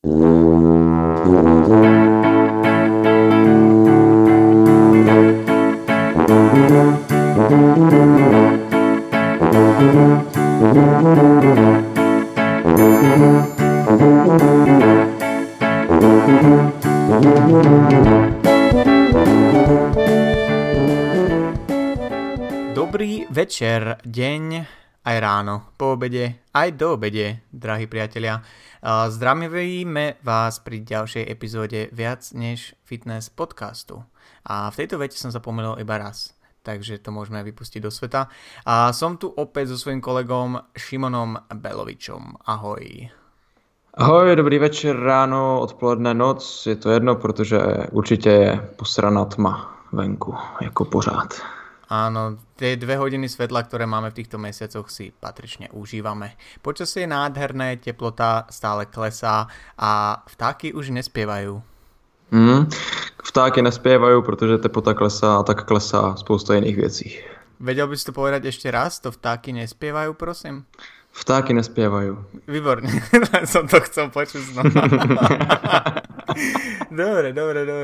Dobrý večer, deň, aj ráno, po obede, aj do obede, drahí priatelia. Zdravíme vás pri ďalšej epizóde Viac než fitness podcastu. A v tejto vete som sa pomýlil iba raz, takže to môžeme vypustiť do sveta. A som tu opäť so svojím kolegom Šimonom Belovičom. Ahoj. Ahoj, dobrý večer, ráno, odpoledne, noc, je to jedno, protože určitě je posraná tma venku, jako pořád. Áno, tie 2 hodiny svetla, ktoré máme v týchto mesiacoch, si patrične užívame. Počasie je nádherné, teplota stále klesá a vtáky už nespievajú. Vtáky nespievajú, protože teplota klesá a tak klesá spousta jiných věcí. Vedel by si to povedať ešte raz? To vtáky nespievajú, prosím? Vtáky nespievajú. Výborne, som to chcel počuť znova. Dobre.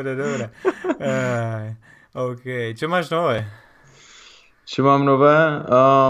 OK, čo máš nové? Co mám nové?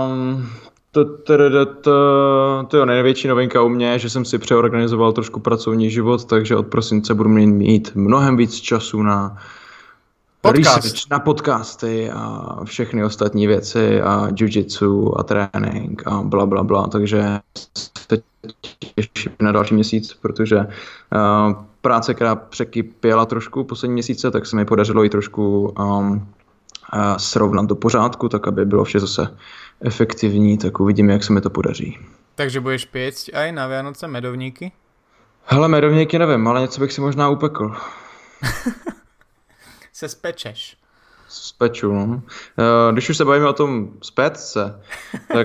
To je největší novinka u mě, že jsem si přeorganizoval trošku pracovní život, takže od prosince budu mít mnohem víc času na research, na podcasty a všechny ostatní věci a jiu-jitsu a trénink a bla bla bla, takže se těším na další měsíc, protože práce, která překypěla trošku poslední měsíce, tak se mi podařilo ji trošku srovnat do pořádku, tak aby bylo vše zase efektivní, tak uvidíme, jak se mi to podaří. Takže budeš piecť aj na Vianoce medovníky? Hele, medovníky nevím, ale něco bych si možná upekl. Se spečeš. Speču, no. Když už se bavíme o tom spécce, tak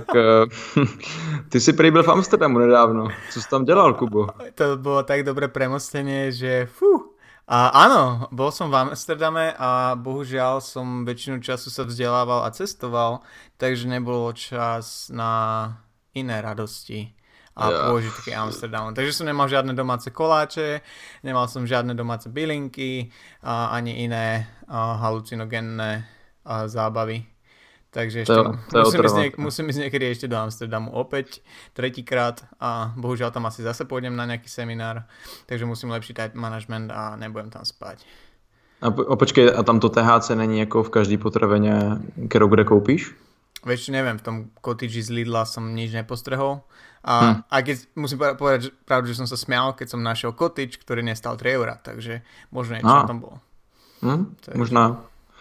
ty si prý byl v Amsterdamu nedávno. Co jsi tam dělal, Kubo? To bolo tak dobré premostenie, že A áno, bol som v Amsterdame a bohužiaľ som väčšinu času sa vzdelával a cestoval, takže nebolo čas na iné radosti a pôžitky Amsterdamu. Takže som nemal žiadne domáce koláče, nemal som žiadne domáce bylinky a ani iné halucinogénne zábavy. Takže ešte musím ísť niekedy ešte do Amsterdamu opäť, tretíkrát a bohužiaľ tam asi zase pôjdem na nejaký seminár, takže musím lepší time management a nebudem tam spať. A počkej, a tam to THC není jako v každý potraveně, kterou kde koupíš? Vieš, neviem, v tom cottage z Lidla som nič nepostrehol a keď musím povedať pravdu, že som sa smial, keď som našiel cottage, ktorý nestal 3 €, takže možno niečo tam bolo. Možná.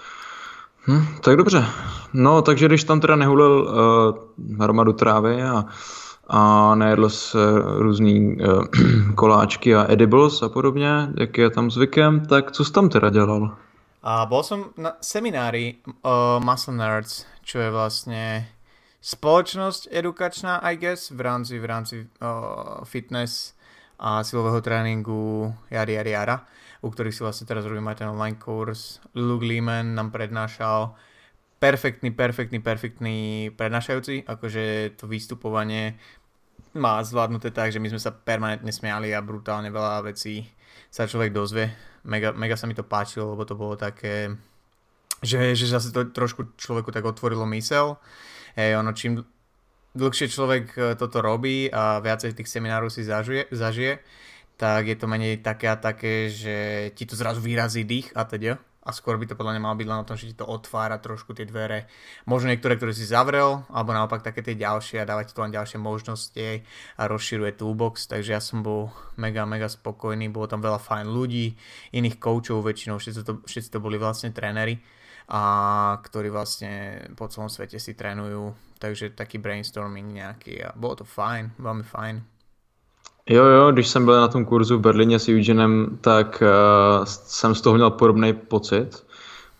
Tak dobře. No, takže když tam teda nehulil hromadu trávy a nejedl se různý koláčky a edibles a podobně, jak je tam zvykem, tak co jsi tam teda dělal? Bol som na seminári Muscle Nerds, čo je vlastne spoločnosť edukačná, I guess, v rámci fitness a silového tréninku jara, u ktorých si vlastne teraz robím aj ten online kurz. Luke Leeman nám prednášal perfektný prednášajúci, akože to vystupovanie má zvládnuté tak, že my sme sa permanentne smiali a brutálne veľa vecí sa človek dozvie. Mega sa mi to páčilo, lebo to bolo také, že zase to trošku človeku tak otvorilo myseľ. Čím dlhšie človek toto robí a viacej tých seminárov si zažije, tak je to menej také, že ti to zrazu vyrazí dých a teda. A skôr by to podľa mňa malo byť len o tom, že ti to otvára trošku tie dvere. Možno niektoré, ktoré si zavrel, alebo naopak také tie ďalšie a dáva ti to len ďalšie možnosti a rozširuje toolbox. Takže ja som bol mega spokojný, bolo tam veľa fajn ľudí, iných coachov väčšinou, všetci to boli vlastne tréneri, a ktorí vlastne po celom svete si trénujú. Takže taký brainstorming nejaký a bolo to fajn, veľmi fajn. Jo, když jsem byl na tom kurzu v Berlíně s Eugenem, tak jsem z toho měl podobný pocit.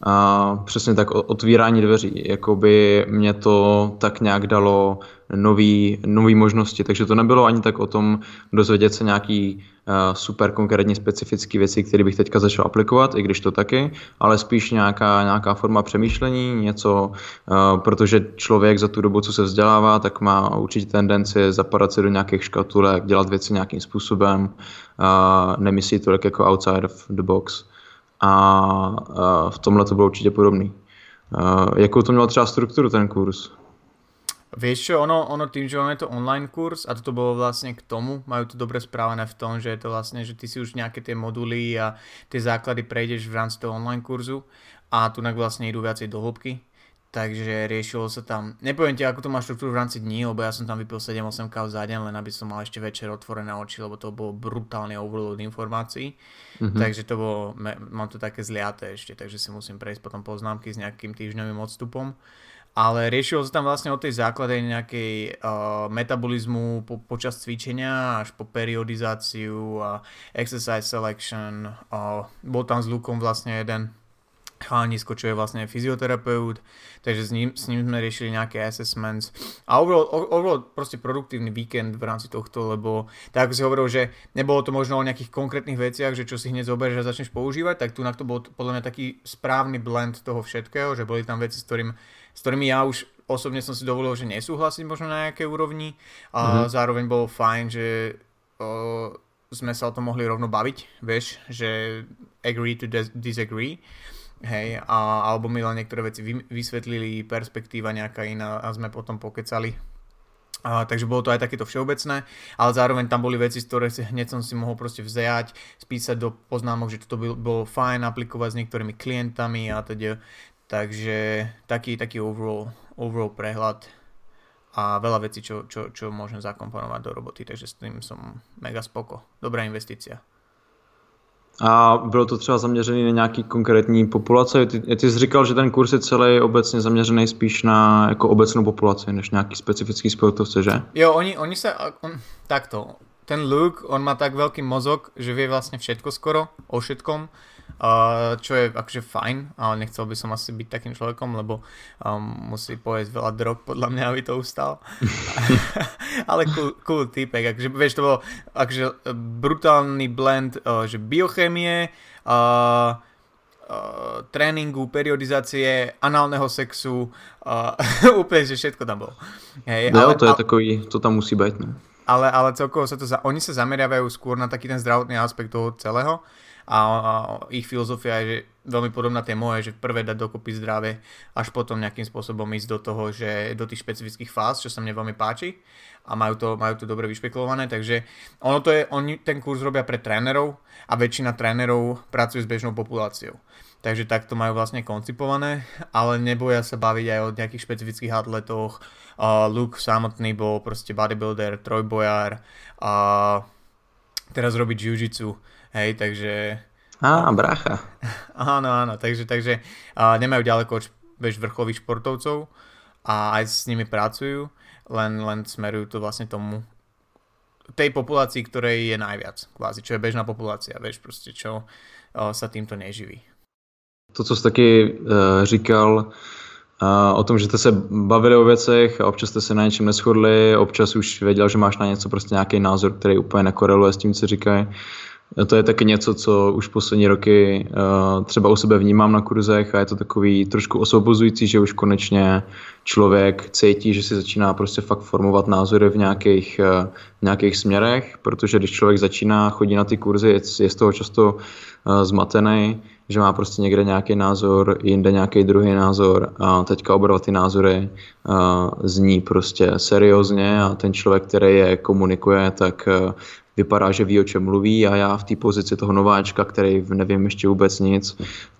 A přesně tak otvírání dveří, jakoby mě to tak nějak dalo nový možnosti, takže to nebylo ani tak o tom dozvědět se nějaký super konkrétní specifické věci, které bych teďka začal aplikovat, i když to taky, ale spíš nějaká forma přemýšlení, něco, protože člověk za tu dobu, co se vzdělává, tak má určitě tendenci zapadat se do nějakých škatulek, dělat věci nějakým způsobem, nemyslí tolik jako outside of the box. A v tomhle to bylo určitě podobný. Jakou to mělo třeba strukturu ten kurz? Vieš čo, ono tým, že ono je to online kurz a toto bolo vlastne k tomu, majú to dobre správené v tom, že je to vlastne, že ty si už nejaké tie moduly a tie základy prejdeš v rámci toho online kurzu a tunak vlastne idú viacej do hĺbky. Takže riešilo sa tam, nepoviem ti, ako to má štruktúru v rámci dní, lebo ja som tam vypil 7-8 káv za deň, len aby som mal ešte večer otvorené oči, lebo to bolo brutálny overload informácií. Takže to bolo, mám to také zliaté ešte, takže si musím prejsť potom poznámky s nejakým týždňovým odstupom. Ale riešilo sa tam vlastne od tej základe nejakej metabolizmu počas cvičenia až po periodizáciu a exercise selection. Bol tam s Lukom vlastne jeden chalanisko, čo je vlastne fyzioterapeut, takže s ním sme riešili nejaké assessments a overall proste produktívny víkend v rámci tohto, lebo tak ako si hovoril, že nebolo to možno o nejakých konkrétnych veciach, že čo si hneď zoberieš a začneš používať, tak tu to bol podľa mňa taký správny blend toho všetkého, že boli tam veci, s ktorými ja už osobne som si dovolil, že nesúhlasiť možno na nejakej úrovni a zároveň bolo fajn, že sme sa o tom mohli rovno baviť, vieš, že agree to disagree. Hej, alebo mi len niektoré veci vysvetlili, perspektíva nejaká iná a sme potom pokecali. Takže bolo to aj takéto všeobecné, ale zároveň tam boli veci, z ktoré hneď som si mohol proste vziať, spísať do poznámok, že toto bolo fajn aplikovať s niektorými klientami a teda. Takže taký overall prehľad a veľa vecí, čo môžem zakomponovať do roboty, takže s tým som mega spoko. Dobrá investícia. A bylo to třeba zaměřený na nějaký konkrétní populace? Ty jsi říkal, že ten kurz je celý obecně zaměřený spíš na jako obecnou populaci, než nějaký specifický sportovce, že? Jo, takto. Ten Luke, on má tak veľký mozog, že vie vlastne všetko skoro, o všetkom, čo je akože fajn, ale nechcel by som asi byť takým človekom, lebo musí pojesť veľa drog, podľa mňa, aby to ustal. Ale cool týpek, akože vieš, to bolo akože brutálny blend, že biochémie, tréningu, periodizácie, análneho sexu, úplne, že všetko tam bolo. Hej, no, to je takový, to tam musí byť, no. Ale celkovo oni sa zameriavajú skôr na taký ten zdravotný aspekt toho celého a ich filozofia je že veľmi podobná tej mojej, že prvé dať dokopy zdravie, až potom nejakým spôsobom ísť do toho, že do tých špecifických fáz, čo sa mne veľmi páči a majú to dobre vyšpekulované, takže oni ten kurz robia pre trénerov a väčšina trénerov pracuje s bežnou populáciou. Takže takto majú vlastne koncipované, ale neboja sa baviť aj o nejakých špecifických atletoch. Luke samotný bol proste bodybuilder, trojbojár a teraz robí jiu-jitsu, hej, takže... Brácha. Áno, takže nemajú ďaleko od vrcholových športovcov a aj s nimi pracujú, len smerujú to vlastne tomu tej populácii, ktorej je najviac, kvázi, čo je bežná populácia, vieš, proste, čo sa týmto neživí. To, co jsi taky říkal o tom, že jste se bavili o věcech a občas jste se na něčem neshodli, občas už věděl, že máš na něco prostě nějaký názor, který úplně nekoreluje s tím, co říkají. To je taky něco, co už poslední roky třeba u sebe vnímám na kurzech a je to takový trošku osvobozující, že už konečně člověk cítí, že si začíná prostě fakt formovat názory v nějakých směrech, protože když člověk začíná chodit na ty kurzy, je z toho často zmatený, že má prostě někde nějaký názor, jinde nějaký druhý názor a teďka oba ty názory zní prostě seriózně a ten člověk, který je komunikuje, tak vypadá, že ví, o čem mluví a já v té pozici toho nováčka, který nevím ještě vůbec nic,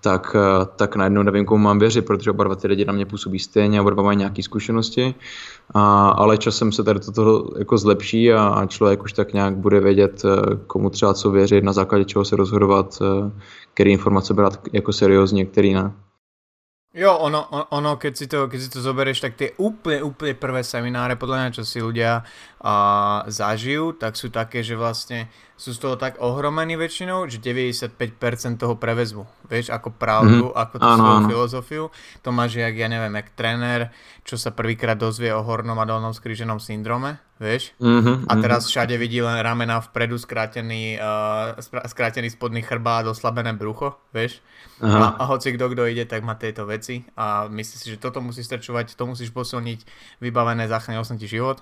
tak najednou nevím, komu mám věřit, protože oba dva ty lidi na mě působí stejně a oba dva mají nějaké zkušenosti, ale časem se tady toto jako zlepší a člověk už tak nějak bude vědět, komu třeba co věřit, na základě čeho se rozhodovat, který informace brát jako seriózně, který ne. Jo, ono keď si to zoberieš, tak tie úplne prvé semináre, podľa mňa, čo si ľudia zažijú, tak sú také, že vlastne sú z toho tak ohromení väčšinou, že 95% toho prevezmu. vieš, ako pravdu, ako tú svoju áno. filozofiu. To máš jak, ja neviem, jak tréner, čo sa prvýkrát dozvie o hornom a dolnom skríženom syndrome, vieš? A teraz všade vidí len ramena vpredu, skrátený spodný chrbát, oslabené brucho, vieš? A hoci kto ide, tak má tieto veci a myslí si, že toto musíš strčovať, to musíš posilniť, vybavené, zachránil som ti život.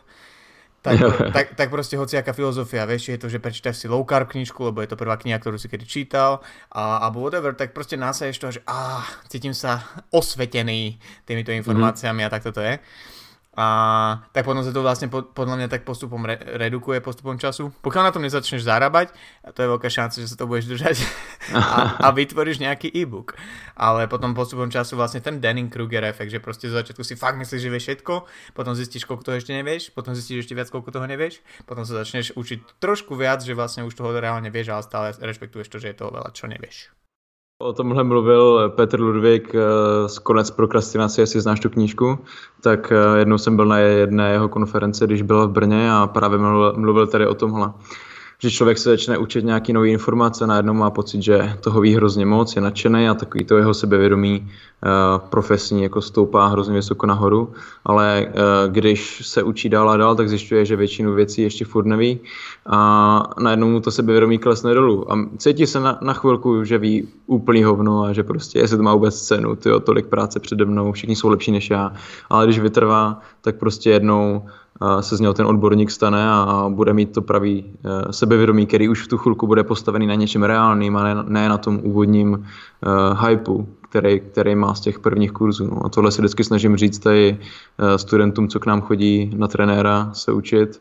Tak proste hociaká filozofia, vieš, je to, že prečítaš si low carb knižku, lebo je to prvá kniha, ktorú si kedy čítal, alebo whatever, tak proste násaješ toho, že cítim sa osvetený týmito informáciami a tak toto je. A tak potom sa to vlastne podľa mňa tak postupom redukuje postupom času. Pokiaľ na tom nezačneš zarábať, a to je veľká šanca, že sa to budeš držať a vytvoríš nejaký e-book. Ale potom postupom času vlastne ten Dunning-Kruger efekt, že proste zo začiatku si fakt myslíš, že vieš všetko, potom zistíš, koľko toho ešte nevieš, potom zistíš ešte viac, koľko toho nevieš, potom sa začneš učiť trošku viac, že vlastne už toho reálne vieš, ale stále rešpektuješ to, že je toho veľa, čo nevieš. O tomhle mluvil Petr Ludvík z Konec prokrastinace, jestli znáš tu knížku, tak jednou jsem byl na jedné jeho konferenci, když byl v Brně a právě mluvil tady o tomhle. Že člověk se začne učit nějaký nový informace, najednou má pocit, že toho ví hrozně moc, je nadšený a takový to jeho sebevědomí profesní jako stoupá hrozně vysoko nahoru, ale když se učí dál a dál, tak zjišťuje, že většinu věcí ještě furt neví a najednou mu to sebevědomí klesne dolů a cítí se na chvilku, že ví úplný hovno a že prostě jestli to má vůbec cenu, tyjo, tolik práce přede mnou, všichni jsou lepší než já, ale když vytrvá, tak prostě jednou se z něho ten odborník stane a bude mít to pravý sebevědomí, který už v tu chvilku bude postavený na něčem reálným a ne na tom úvodním hypeu, který má z těch prvních kurzů. No. A tohle si vždycky snažím říct tady studentům, co k nám chodí na trenéra se učit,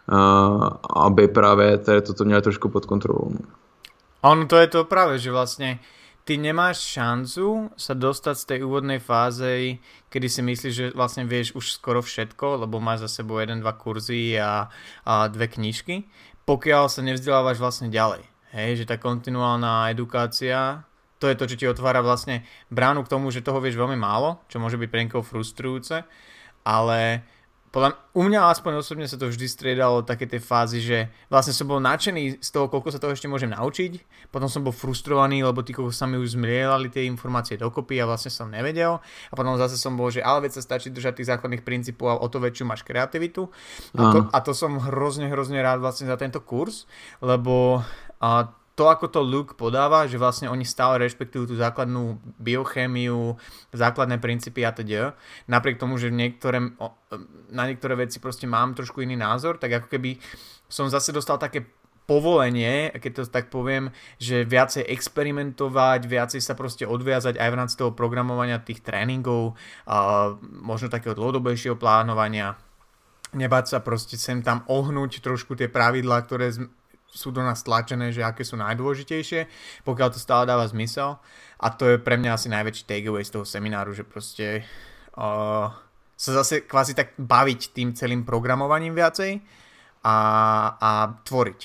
aby právě tady toto měli trošku pod kontrolou. No. Ono to je to práve, že vlastne ty nemáš šancu sa dostať z tej úvodnej fáze, kedy si myslíš, že vlastne vieš už skoro všetko, lebo máš za sebou 1-2 kurzy a 2 knižky, pokiaľ sa nevzdelávaš vlastne ďalej. Hej, že tá kontinuálna edukácia, to je to, čo ti otvára vlastne bránu k tomu, že toho vieš veľmi málo, čo môže byť pre niekoho frustrujúce, ale u mňa aspoň osobne sa to vždy striedalo také tie fázy, že vlastne som bol nadšený z toho, koľko sa toho ešte môžem naučiť, potom som bol frustrovaný, lebo tí koľko sa mi už zmielali tie informácie dokopy a vlastne som nevedel a potom zase som bol, že ale veď sa stačí držať tých základných princípov a o to väčšiu máš kreativitu a to som hrozne rád vlastne za tento kurz, lebo to, ako to Luke podáva, že vlastne oni stále rešpektujú tú základnú biochémiu, základné princípy a teda. Napriek tomu, že na niektoré veci proste mám trošku iný názor, tak ako keby som zase dostal také povolenie, keď to tak poviem, že viacej experimentovať, viacej sa proste odviazať aj v rámci toho programovania tých tréningov, možno takého dlhodobejšieho plánovania, nebáť sa proste sem tam ohnúť trošku tie pravidlá, ktoré sú do nás tlačené, že aké sú najdôležitejšie, pokiaľ to stále dáva zmysel. A to je pre mňa asi najväčší takeaway z toho semináru, že proste sa zase kvázi tak baviť tým celým programovaním viacej a tvoriť.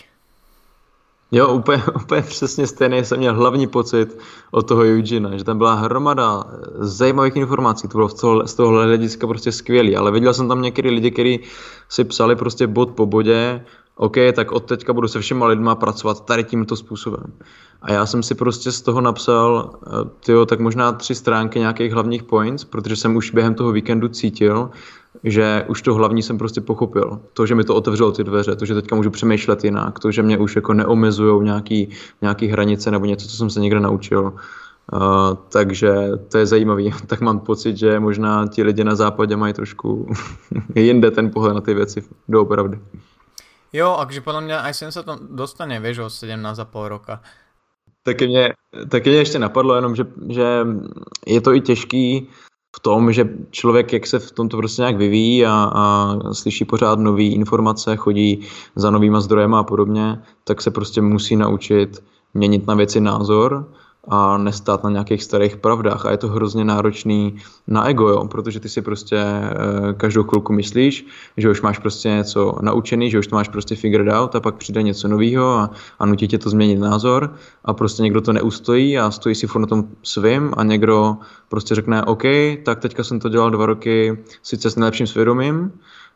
Jo, úplně přesně stejný jsem měl hlavní pocit od toho Eugenea, že tam byla hromada zajímavých informací, to bylo z tohohle hlediska prostě skvělý, ale viděl jsem tam některý lidi, kteří si psali prostě bod po bodě, OK, tak od teďka budu se všema lidma pracovat tady tímto způsobem. A já jsem si prostě z toho napsal, tak možná 3 stránky nějakých hlavních points, protože jsem už během toho víkendu cítil, že už to hlavní jsem prostě pochopil. To, že mi to otevřelo ty dveře, to, že teďka můžu přemýšlet jinak, to, že mě už jako neomezujou nějaký hranice nebo něco, co jsem se někde naučil. Takže to je zajímavý. Tak mám pocit, že možná ti lidi na západě mají trošku jinde ten pohled na ty věci doopravdy. Jo, akže podľa mňa aj sem sa to dostane, vieš, o 17,5 roka. Taky mě ještě napadlo jenom, že je to i těžký v tom, že člověk, jak se v tomto prostě nějak vyvíjí a slyší pořád nové informace, chodí za novýma zdrojema a podobně, tak se prostě musí naučit měnit na věci názor a nestát na nějakých starých pravdách. A je to hrozně náročný na ego, jo? Protože ty si prostě každou chvilku myslíš, že už máš prostě něco naučený, že už to máš prostě figured out a pak přijde něco novýho a nutí tě to změnit názor a prostě někdo to neustojí a stojí si furt na tom svým a někdo prostě řekne OK, tak teďka jsem to dělal 2 roky sice s nejlepším svědomím,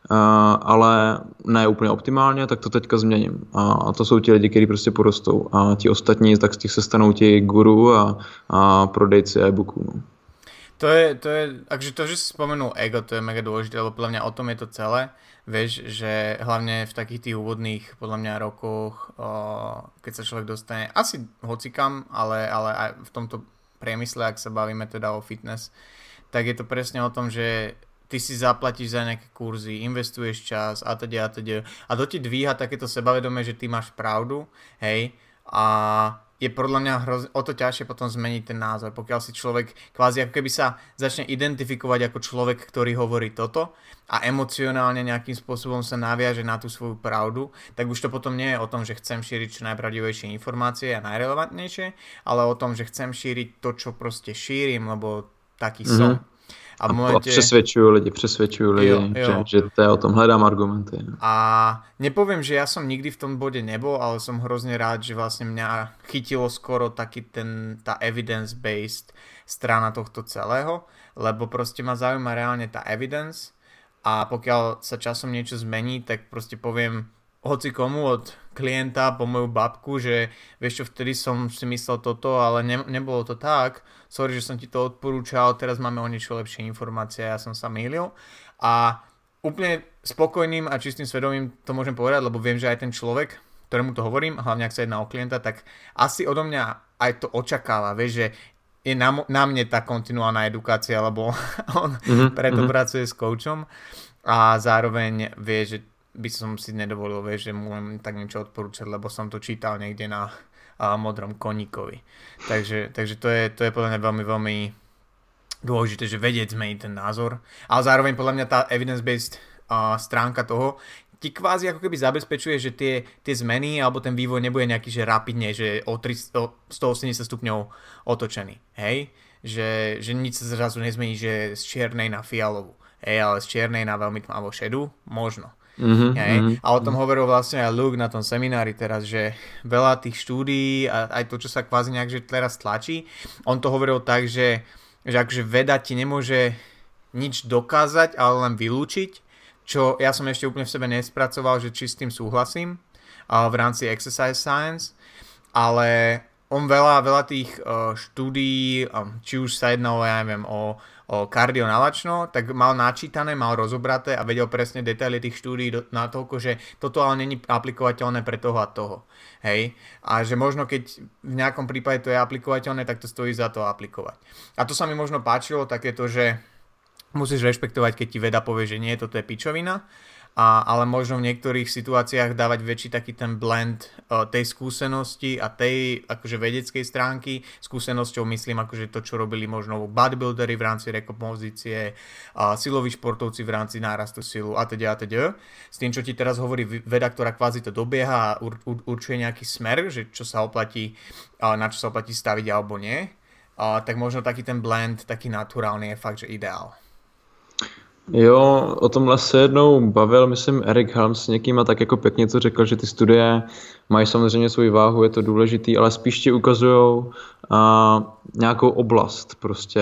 ale ne úplně optimálně, tak to teďka změním. A to jsou ti lidi, kteří prostě porostou. A ti ostatní, tak z těch se stanou ti guru a prodejci e-booků. No. To je, akže to, že si spomenul ego, to je mega dôležité, lebo podľa mňa o tom je to celé. Vieš, že hlavne v takých tých úvodných, podľa mňa, rokoch, keď sa človek dostane asi hocikam, ale aj v tomto priemysle, ak sa bavíme teda o fitness, tak je to presne o tom, že ty si zaplatíš za nejaké kurzy, investuješ čas a teda. A to ti dvíha takéto sebavedomie, že ty máš pravdu, hej, a je podľa mňa o to ťažšie potom zmeniť ten názor. Pokiaľ si človek kvázi ako keby sa začne identifikovať ako človek, ktorý hovorí toto a emocionálne nejakým spôsobom sa naviaže na tú svoju pravdu, tak už to potom nie je o tom, že chcem šíriť čo najpravdivejšie informácie a najrelevantnejšie, ale o tom, že chcem šíriť to, čo proste šírim, lebo taký som. A přesvědčuju lidi, že to je o tom, hledám argumenty. A nepoviem, že ja som nikdy v tom bode nebol, ale som hrozne rád, že vlastne mňa chytilo skoro taký tá evidence-based strana tohto celého, lebo proste ma zaujíma reálne tá evidence a pokiaľ sa časom niečo zmení, tak proste poviem hoci komu od klienta po moju babku, že vieš čo, vtedy som si myslel toto, ale nebolo to tak, sorry, že som ti to odporúčal, teraz máme o niečo lepšie informácie, ja som sa mýlil a úplne spokojným a čistým svedomím to môžem povedať, lebo viem, že aj ten človek, ktorému to hovorím, hlavne ak sa jedná o klienta, tak asi odo mňa aj to očakáva, vieš, že je na mne tá kontinuálna edukácia, lebo on preto pracuje s coachom a zároveň vie, že by som si nedovolil, vieš, že mu len tak niečo odporúčať, lebo som to čítal niekde na modrom koníkovi. Takže to je podľa mňa veľmi, veľmi dôležité, že vedieť zmeniť ten názor. Ale zároveň podľa mňa tá evidence-based stránka toho ti kvázi ako keby zabezpečuje, že tie zmeny alebo ten vývoj nebude nejaký, že rapidne, že o 180 stupňov otočený. Hej? Že nič sa zrazu nezmení, že z čiernej na fialovú. Hej, ale z čiernej na veľmi tmavo šedú? Možno. A o tom hovoril vlastne aj Luke na tom seminári teraz, že veľa tých štúdií a aj to, čo sa kvázi nejak že teraz tlačí, on to hovoril tak, že akože veda ti nemôže nič dokázať, ale len vylúčiť, čo ja som ešte úplne v sebe nespracoval, že či s tým súhlasím v rámci exercise science, ale on veľa tých štúdií, či už sa jednalo, ja neviem, o kardionalačno, tak mal načítané, mal rozobraté a vedel presne detaily tých štúdií na toľko, že toto ale není aplikovateľné pre toho a toho. Hej? A že možno keď v nejakom prípade to je aplikovateľné, tak to stojí za to aplikovať. A to sa mi možno páčilo, takéto, že musíš rešpektovať, keď ti veda povie, že nie, toto je pičovina, ale možno v niektorých situáciách dávať väčší taký ten blend tej skúsenosti a tej akože vedeckej stránky. Skúsenosťou myslím akože to, čo robili možno bodybuildery v rámci rekompozície, siloví športovci v rámci nárastu silu a teda. S tým, čo ti teraz hovorí veda, ktorá kvázi to dobieha a určuje nejaký smer, že čo sa oplatí, na čo sa oplatí staviť alebo nie, tak možno taký ten blend, taký naturálny je fakt, že ideál. Jo, o tomhle se jednou bavil, myslím, Eric Helms s někým a tak jako pěkně to řekl, že ty studie mají samozřejmě svou váhu, je to důležitý, ale spíš ti ukazujou nějakou oblast. Prostě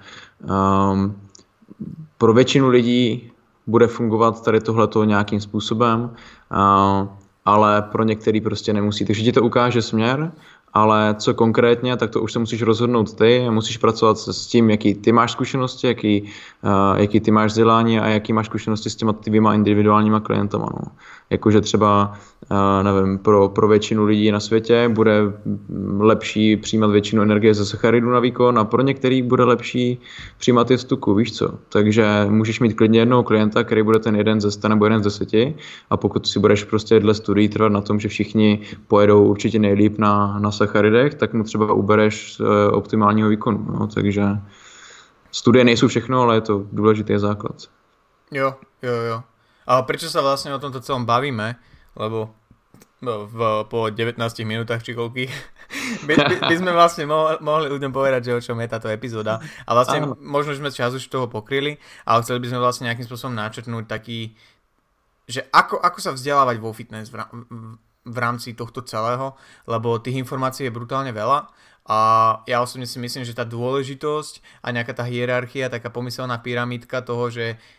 pro většinu lidí bude fungovat tady tohleto nějakým způsobem, ale pro některý prostě nemusí. Takže ti to ukáže směr, ale co konkrétně, tak to už se musíš rozhodnout ty a musíš pracovat s tím, jaký ty máš zkušenosti, jaký ty máš vzdělání a jaký máš zkušenosti s těma tvýma individuálníma klientama. No. Jakože třeba, nevím, pro většinu lidí na světě bude lepší přijímat většinu energie ze sacharidů na výkon a pro některý bude lepší přijímat je z tuku, víš co. Takže můžeš mít klidně jednoho klienta, který bude ten 1 ze 100 nebo 1 z 10 a pokud si budeš prostě dle studií trvat na tom, že všichni pojedou určitě nejlíp na sacharidech, tak mu třeba ubereš optimálního výkonu. No. Takže studie nejsou všechno, ale je to důležitý základ. Jo. A prečo sa vlastne o tomto celom bavíme? Lebo po 19 minútach či koľky by sme vlastne mohli ľuďom povedať, že o čom je táto epizóda. A vlastne možno sme čas už toho pokryli, ale chceli by sme vlastne nejakým spôsobom načrtnúť taký, že ako sa vzdelávať vo fitness v rámci tohto celého, lebo tých informácií je brutálne veľa a ja osobne si myslím, že tá dôležitosť a nejaká tá hierarchia, taká pomyselná pyramídka toho, že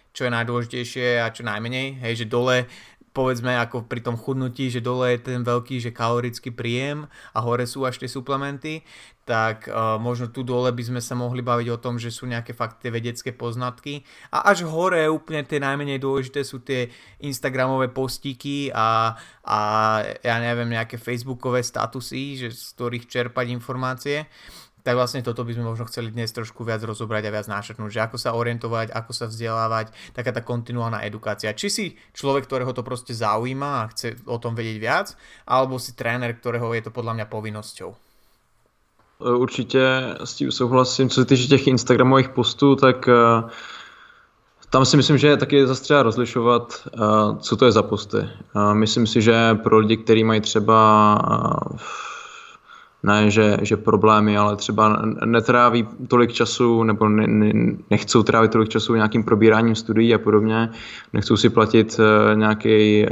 čo je najdôležitejšie a čo najmenej, hej, že dole povedzme ako pri tom chudnutí, že dole je ten veľký, že kalorický príjem a hore sú až tie suplementy, tak možno tu dole by sme sa mohli baviť o tom, že sú nejaké fakt tie vedecké poznatky a až hore úplne tie najmenej dôležité sú tie instagramové postíky a ja neviem, nejaké facebookové statusy, že z ktorých čerpať informácie. Tak vlastne toto by sme možno chceli dnes trošku viac rozobrať a viac nášetnúť, že ako sa orientovať, ako sa vzdelávať, taká tá kontinuálna edukácia. Či si človek, ktorého to proste zaujíma a chce o tom vedieť viac, alebo si tréner, ktorého je to podľa mňa povinnosťou. Určitě s tím souhlasím. Co se týče těch instagramových postů, tak tam si myslím, že je taky zase třeba rozlišovat, co to je za posty. Myslím si, že pro lidi, kteří mají třeba ne, že problémy, ale třeba netráví tolik času nebo nechcou trávit tolik času nějakým probíráním studií a podobně, nechcou si platit nějaký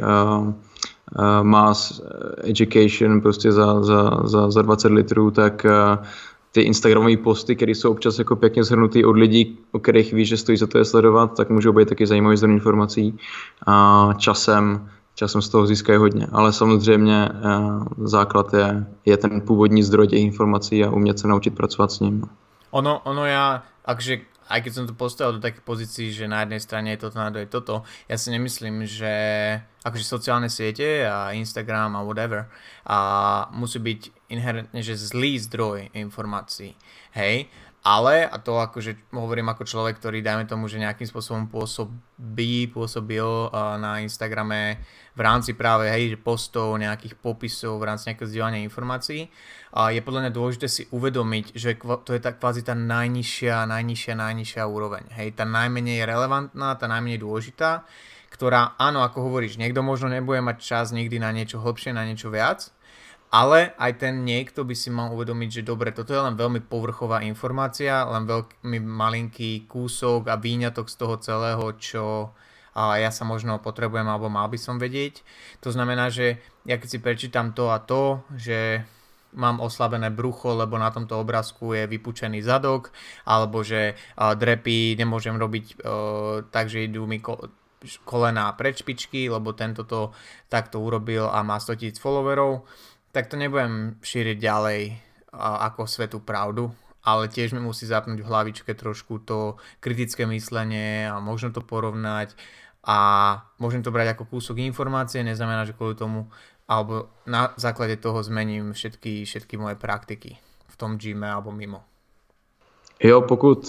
mass education prostě za 20 litrů, tak ty instagramové posty, které jsou občas jako pěkně shrnutý od lidí, o kterých víš, že stojí za to je sledovat, tak můžou být taky zajímavý zdroj informací a časem z toho získají hodně, ale samozřejmě základ je ten původní zdroj těch informací a umět se naučit pracovat s ním. Ono ja, akže aj keď som to postavil do takej pozícii, že na jednej strane je toto, na druhej toto, ja si nemyslím, že akože sociálne siete a Instagram a whatever a musí byť inherentne, že zlý zdroj informácií, hej, ale, a to akože hovorím ako človek, ktorý dajme tomu, že nejakým spôsobom pôsobil na Instagrame v rámci práve postov, nejakých popisov, v rámci nejakého zdieľania informácií, je podľa mňa dôležité si uvedomiť, že to je kvázi tá najnižšia úroveň. Hej, tá najmenej relevantná, tá najmenej dôležitá, ktorá, áno, ako hovoríš, niekto možno nebude mať čas nikdy na niečo hlbšie, na niečo viac, ale aj ten niekto by si mal uvedomiť, že dobre, toto je len veľmi povrchová informácia, len veľmi malinký kúsok a výňatok z toho celého, čo ja sa možno potrebujem alebo mal by som vedieť. To znamená, že ja keď si prečítam to a to, že mám oslabené brucho, lebo na tomto obrázku je vypučený zadok, alebo že drepy nemôžem robiť tak, že idú mi kolená pred špičky, lebo tento to takto urobil a má 100 000 followerov, tak to nebudem šíriť ďalej ako svetú pravdu, ale tiež mi musí zapnúť v hlavičke trošku to kritické myslenie a možno to porovnať a môžem to brať ako kúsok informácie, neznamená, že kvôli tomu alebo na základe toho zmením všetky moje praktiky v tom gyme alebo mimo. Jo,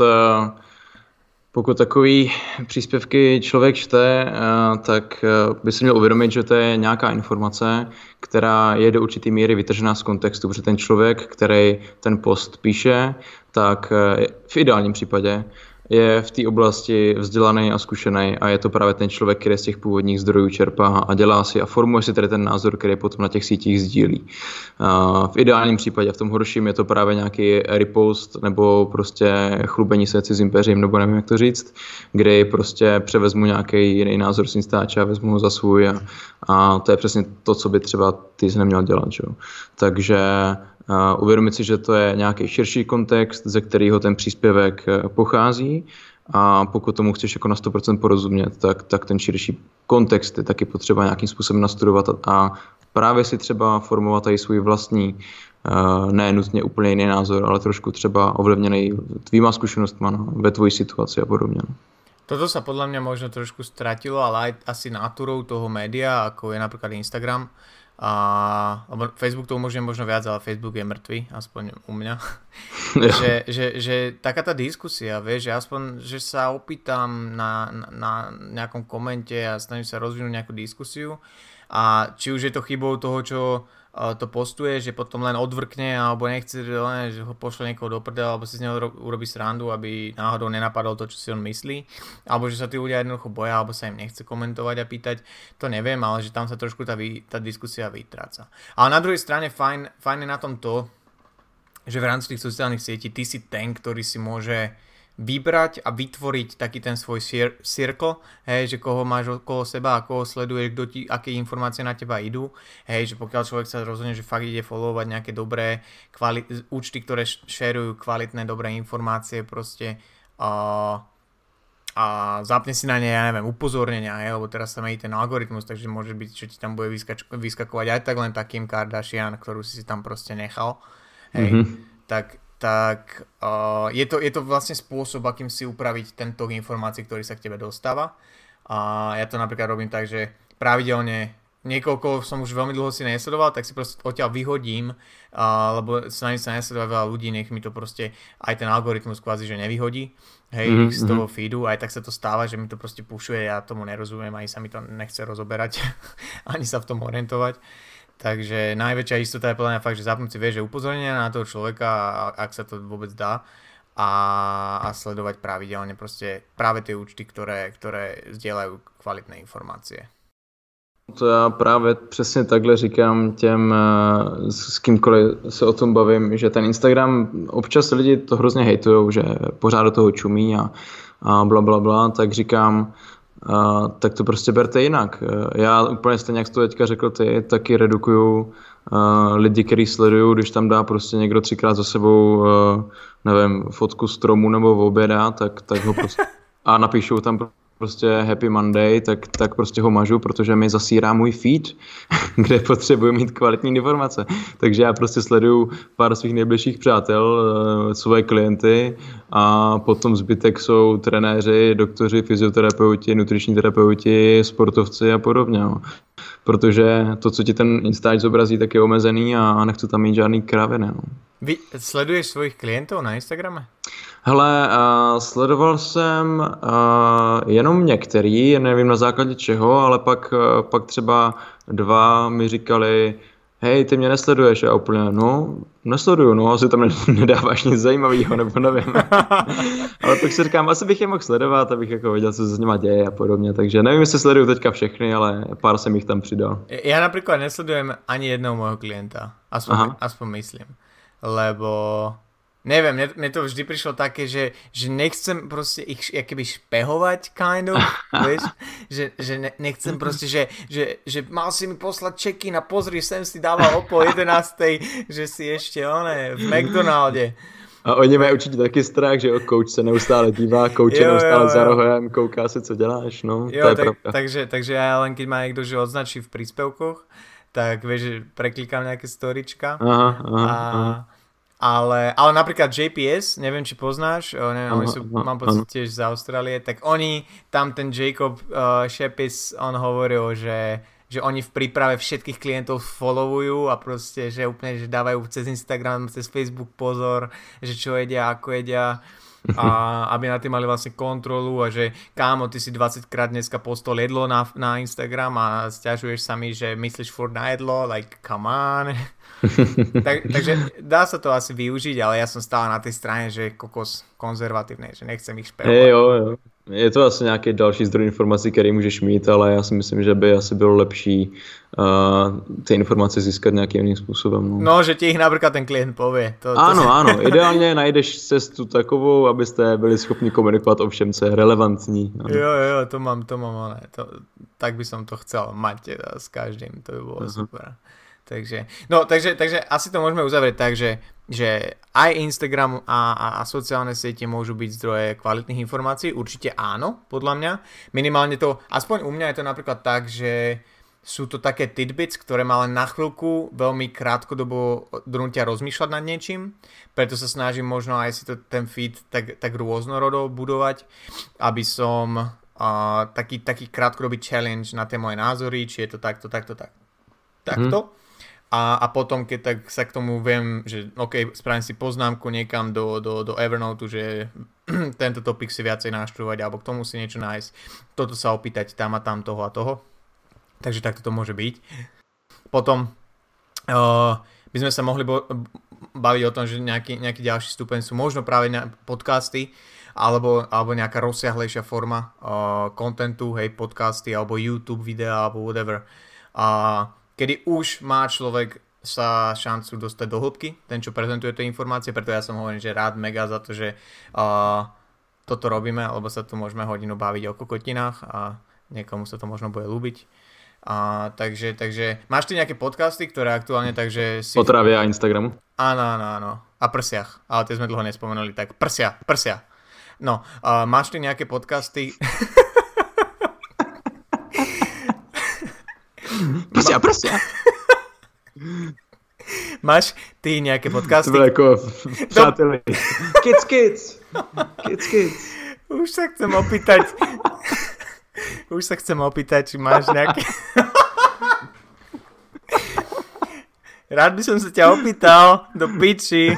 pokud takový příspěvky člověk čte, tak by si měl uvědomit, že to je nějaká informace, která je do určitý míry vytržená z kontextu, protože ten člověk, který ten post píše, tak v ideálním případě je v té oblasti vzdělaný a zkušený a je to právě ten člověk, který z těch původních zdrojů čerpá a dělá si a formuje si tady ten názor, který potom na těch sítích sdílí. V ideálním případě, v tom horším je to právě nějaký repost nebo prostě chlubení se cizím peřím, nebo nevím, jak to říct, kdy prostě převezmu nějaký jiný názor z Instače a vezmu ho za svůj a to je přesně to, co by třeba ty jsi neměl dělat. Že? Takže uvědomit si, že to je nějaký širší kontext, ze kterého ten příspěvek pochází a pokud tomu chceš jako na 100% porozumět, tak ten širší kontext je taky potřeba nějakým způsobem nastudovat a právě si třeba formovat i svůj vlastní, ne nutně úplně jiný názor, ale trošku třeba ovlivněný tvýma zkušenostma ve tvojí situaci a podobně. Toto sa podľa mňa možno trošku stratilo, ale aj asi náturou toho média, ako je napríklad Instagram, lebo Facebook to umožňuje možno viac, ale Facebook je mŕtvý, aspoň u mňa. že taká tá diskusia, vieš, že aspoň, že sa opýtam na nejakom komente a snažím sa rozvinúť nejakú diskusiu a či už je to chybou toho, čo to postuje, že potom len odvrkne alebo nechce, že ho pošle niekoho do prdela alebo si z neho urobí srandu, aby náhodou nenapadol to, čo si on myslí, alebo že sa tí ľudia jednoducho boja alebo sa im nechce komentovať a pýtať, to neviem, ale že tam sa trošku tá diskusia vytráca. Ale na druhej strane fajn je na tom to, že v rámci tých sociálnych sietí ty si ten, ktorý si môže vybrať a vytvoriť taký ten svoj circle, hej, že koho máš okolo seba a koho sleduješ, aké informácie na teba idú, hej, že pokiaľ človek sa rozhodne, že fakt ide followovať nejaké dobré účty, ktoré šerujú kvalitné, dobré informácie proste a a zapne si na ne, ja neviem, upozornenia, lebo teraz sa mení ten algoritmus, takže môže byť, že ti tam bude vyskakovať aj tak len takým Kardashian, ktorú si tam proste nechal, hej, tak je to vlastne spôsob, akým si upraviť ten tok informácií, ktorý sa k tebe dostáva. A ja to napríklad robím tak, že pravidelne niekoľko som už veľmi dlho si nesledoval, tak si proste odtiaľ vyhodím, lebo sa nesleduje veľa ľudí, nech mi to proste aj ten algoritmus kvázi, že nevyhodí, hej, z toho feedu, aj tak sa to stáva, že mi to proste pušuje, ja tomu nerozumiem, ani sa mi to nechce rozoberať, ani sa v tom orientovať. Takže najväčšia istota je podľa mňa fakt, že zapnúť si že upozornenia na toho človeka, ak sa to vôbec dá, a sledovať pravidelne proste práve tie účty, ktoré zdieľajú kvalitné informácie. To já právě přesně takhle říkám těm, s kýmkoliv se o tom bavím, že ten Instagram, občas lidi to hrozně hejtujou, že pořád do toho čumí a bla bla bla, tak říkám, tak to prostě berte jinak. Já úplně stejně, jak jsi to teďka řekl ty, taky redukuju lidi, který sleduju, když tam dá prostě někdo 3krát za sebou, nevím, fotku stromu nebo oběda, tak ho prostě a napíšou tam prostě Happy Monday, tak prostě ho mažu, protože mi zasírá můj feed, kde potřebuji mít kvalitní informace. Takže já prostě sleduju pár svých nejbližších přátel, svoje klienty a potom zbytek jsou trenéři, doktoři, fyzioterapeuti, nutriční terapeuti, sportovci a podobně. Protože to, co ti ten Instač zobrazí, tak je omezený a nechci tam mít žádný kraviny. No. Vy sleduješ svojich klientů na Instagrame? Hele, sledoval jsem jenom některý, nevím na základě čeho, ale pak třeba 2 mi říkali, hej, ty mě nesleduješ, a úplně, no, nesleduju, no, asi tam nedáváš nic zajímavého, nebo nevím. Ale pak si říkám, asi bych je mohl sledovat, abych jako věděl, co se s nima děje a podobně, takže nevím, jestli sleduju teďka všechny, ale pár jsem jich tam přidal. Ja napríklad nesledujem ani jedného môjho klienta, aspoň myslím, lebo neviem, mne to vždy prišlo také, že nechcem proste ich keby špehovať, kind of, vieš, že nechcem proste, že mal si mi poslať check-in a pozri, sem si dával o 10:30, že si ešte v McDonalde. A oni mají určitě taky strach, že coach se neustále dívá, coach je neustále za rohem, kouká se, co děláš, no, to je pravda. Takže ja len keď ma niekto že odznačí v príspevkoch, tak vieš, že preklikám nejaké storička. Aha. Ale napríklad JPS, neviem, či poznáš, oni sú, mám pocit, tiež z Austrálie, tak oni, tam ten Jacob Shepis, on hovoril, že oni v príprave všetkých klientov followujú a proste, že úplne, že dávajú cez Instagram, cez Facebook pozor, že čo jedia, ako jedia, a aby na tým mali vlastne kontrolu a že kámo, ty si 20-krát dneska postol jedlo na Instagram a sťažuješ sa mi, že myslíš furt na jedlo, like come on. Takže dá sa to asi využiť, ale ja som stále na tej strane, že kokos konzervatívne, že nechcem ich špehovať. Jo. Je to asi nějaký další zdroj informací, který můžeš mít, ale já si myslím, že by asi bylo lepší ty informace získat nějakým jiným způsobem. No, že ti ich napríklad ten klient povie. Áno, ideálně najdeš cestu takovou, abyste byli schopni komunikovat o všem, co je relevantní. Ano. Jo, to mám, ale tak by som to chcel mať teda s každým, to by bolo super. Takže asi to môžeme uzavrieť tak, že aj Instagram a sociálne siete môžu byť zdroje kvalitných informácií. Určite áno, podľa mňa. Minimálne to, aspoň u mňa je to napríklad tak, že sú to také tidbits, ktoré ma len na chvíľku veľmi krátkodobo donútia rozmýšľať nad niečím. Preto sa snažím možno aj si to ten feed tak rôznorodo budovať, aby som taký krátkodobý challenge na tie moje názory, či je to takto. A potom, keď tak sa k tomu viem, že OK, spravím si poznámku niekam do Evernote, že tento topik si viacej naštudovať, alebo k tomu si niečo nájsť, toto sa opýtať tam a tam, toho a toho. Takže takto to môže byť. Potom by sme sa mohli baviť o tom, že nejaký ďalší stupeň sú možno práve podcasty, alebo nejaká rozsiahlejšia forma contentu, hej, podcasty, alebo YouTube videa, alebo whatever. Kedy už má človek sa šancu dostať do hĺbky, ten, čo prezentuje tie informácie, preto ja som hovoril, že rád mega za to, že toto robíme, lebo sa tu môžeme hodinu baviť o kokotinách a niekomu sa to možno bude ľúbiť. Takže máš ty nejaké podcasty, ktoré aktuálne takže si... O trávě a Instagramu? Áno. A prsiach. Ale tie sme dlho nespomenuli, tak prsia. No, máš ty nejaké podcasty? Prosím. Máš ty nejaké podcasty? To bylo jako přáteli. Kids. Už sa chcem opýtať, či máš nejaké... Rád by som sa ťa opýtal do piči.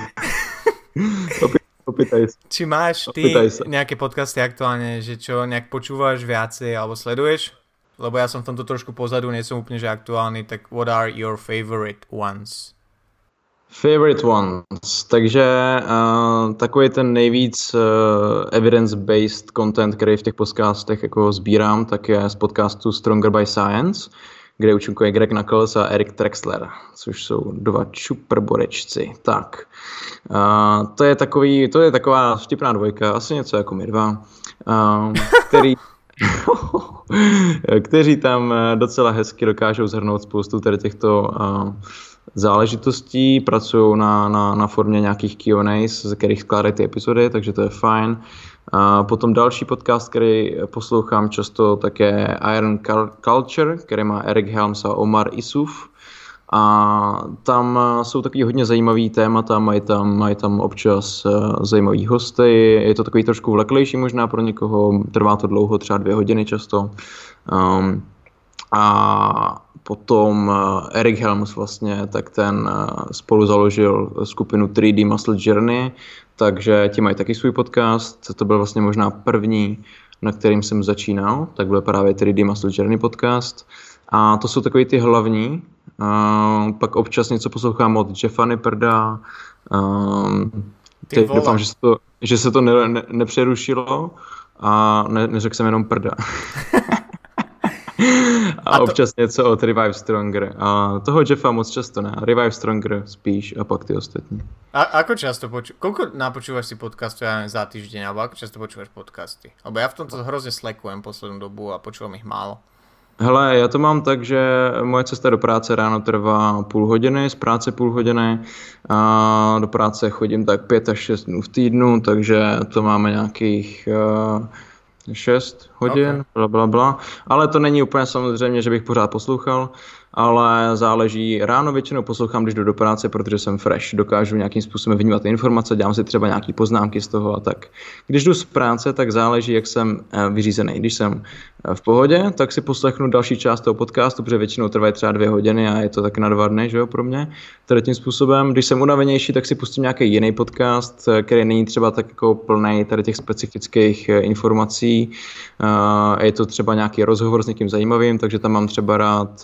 Opýtaj sa. Či máš ty nejaké podcasty aktuálne, že čo nejak počúvaš viacej alebo sleduješ? Lebo ja som v tomto trošku pozadu, nie som úplne že aktuálny, tak what are your favorite ones? Favorite ones. Takže takový ten nejvíc evidence-based content, který v těch podcastech jako sbírám, tak je z podcastu Stronger by Science, kde účinkuje Greg Nuckols a Eric Trexler, což jsou dva čuprborečci. Tak, to je taková vtipná dvojka, asi něco jako my dva, kteří tam docela hezky dokážou shrnout spoustu tady těchto záležitostí, pracují na formě nějakých Q&As, ze kterých skládají ty epizody, takže to je fajn. A potom další podcast, který poslouchám často, tak je Iron Culture, který má Eric Helms a Omar Isuf. A tam jsou takový hodně zajímavý témata, mají tam občas zajímavý hosty, je to takový trošku vleklejší možná pro někoho, trvá to dlouho, třeba 2 hodiny často. A potom Eric Helms vlastně, tak ten spolu založil skupinu 3D Muscle Journey, takže ti mají taky svůj podcast, to byl vlastně možná první, na kterým jsem začínal, tak byl právě 3D Muscle Journey podcast. A to jsou takový ty hlavní, pak občas něco poslouchám od Jeffa Nipperda, doufám, že se to nepřerušilo a neřekl jsem jenom prda. A občas něco od Revive Stronger. A toho Jeffa moc často ne. Revive Stronger spíš a pak ty ostatní. A ako často koľko napočúvaš si podcastov za týždeň, alebo ako často počúvaš podcasty? Lebo ja v tomto hrozne slackujem poslednú dobu a počúvam ich málo. Hele, já to mám tak, že moje cesta do práce ráno trvá půl hodiny, z práce půl hodiny a do práce chodím tak 5 až 6 dnů v týdnu, takže to máme nějakých 6 hodin, okay. Blablabla. Ale to není úplně samozřejmě, že bych pořád poslouchal, ale záleží. Ráno většinou poslouchám, když jdu do práce, protože jsem fresh, dokážu nějakým způsobem vnímat informace, dělám si třeba nějaký poznámky z toho a tak. Když jdu z práce, tak záleží, jak jsem vyřízený. Když jsem v pohodě, tak si poslechnu další část toho podcastu, protože většinou trvají třeba 2 hodiny a je to tak na 2 dny, že jo, pro mě. Tady tím způsobem. Když jsem unavenější, tak si pustím nějaký jiný podcast, který není třeba tak jako plný tady těch specifických informací. Je to třeba nějaký rozhovor s někým zajímavým, takže tam mám třeba rád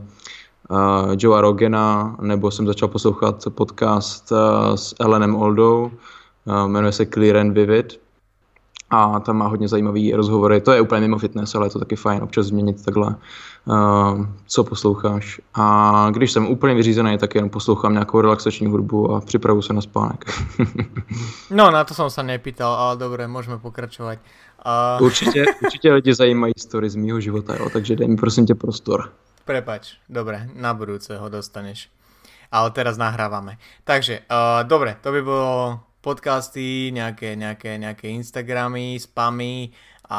Joea Rogana, nebo jsem začal poslouchat podcast s Elenem Oldou, jmenuje se Clear and Vivid a tam má hodně zajímavý rozhovory, to je úplně mimo fitness, ale je to taky fajn občas změnit takhle, co posloucháš. A když jsem úplně vyřízený, tak jenom poslouchám nějakou relaxační hudbu a připravu se na spánek. No, na to som sa nepýtal, ale dobre, môžeme pokračovať. Určitě lidi zajímají story z mýho života, jo, takže dej mi prosím tě prostor. Prepač, dobre, na budúce ho dostaneš. Ale teraz nahrávame. Takže, dobre, to by bolo podcasty, nejaké Instagramy, spamy a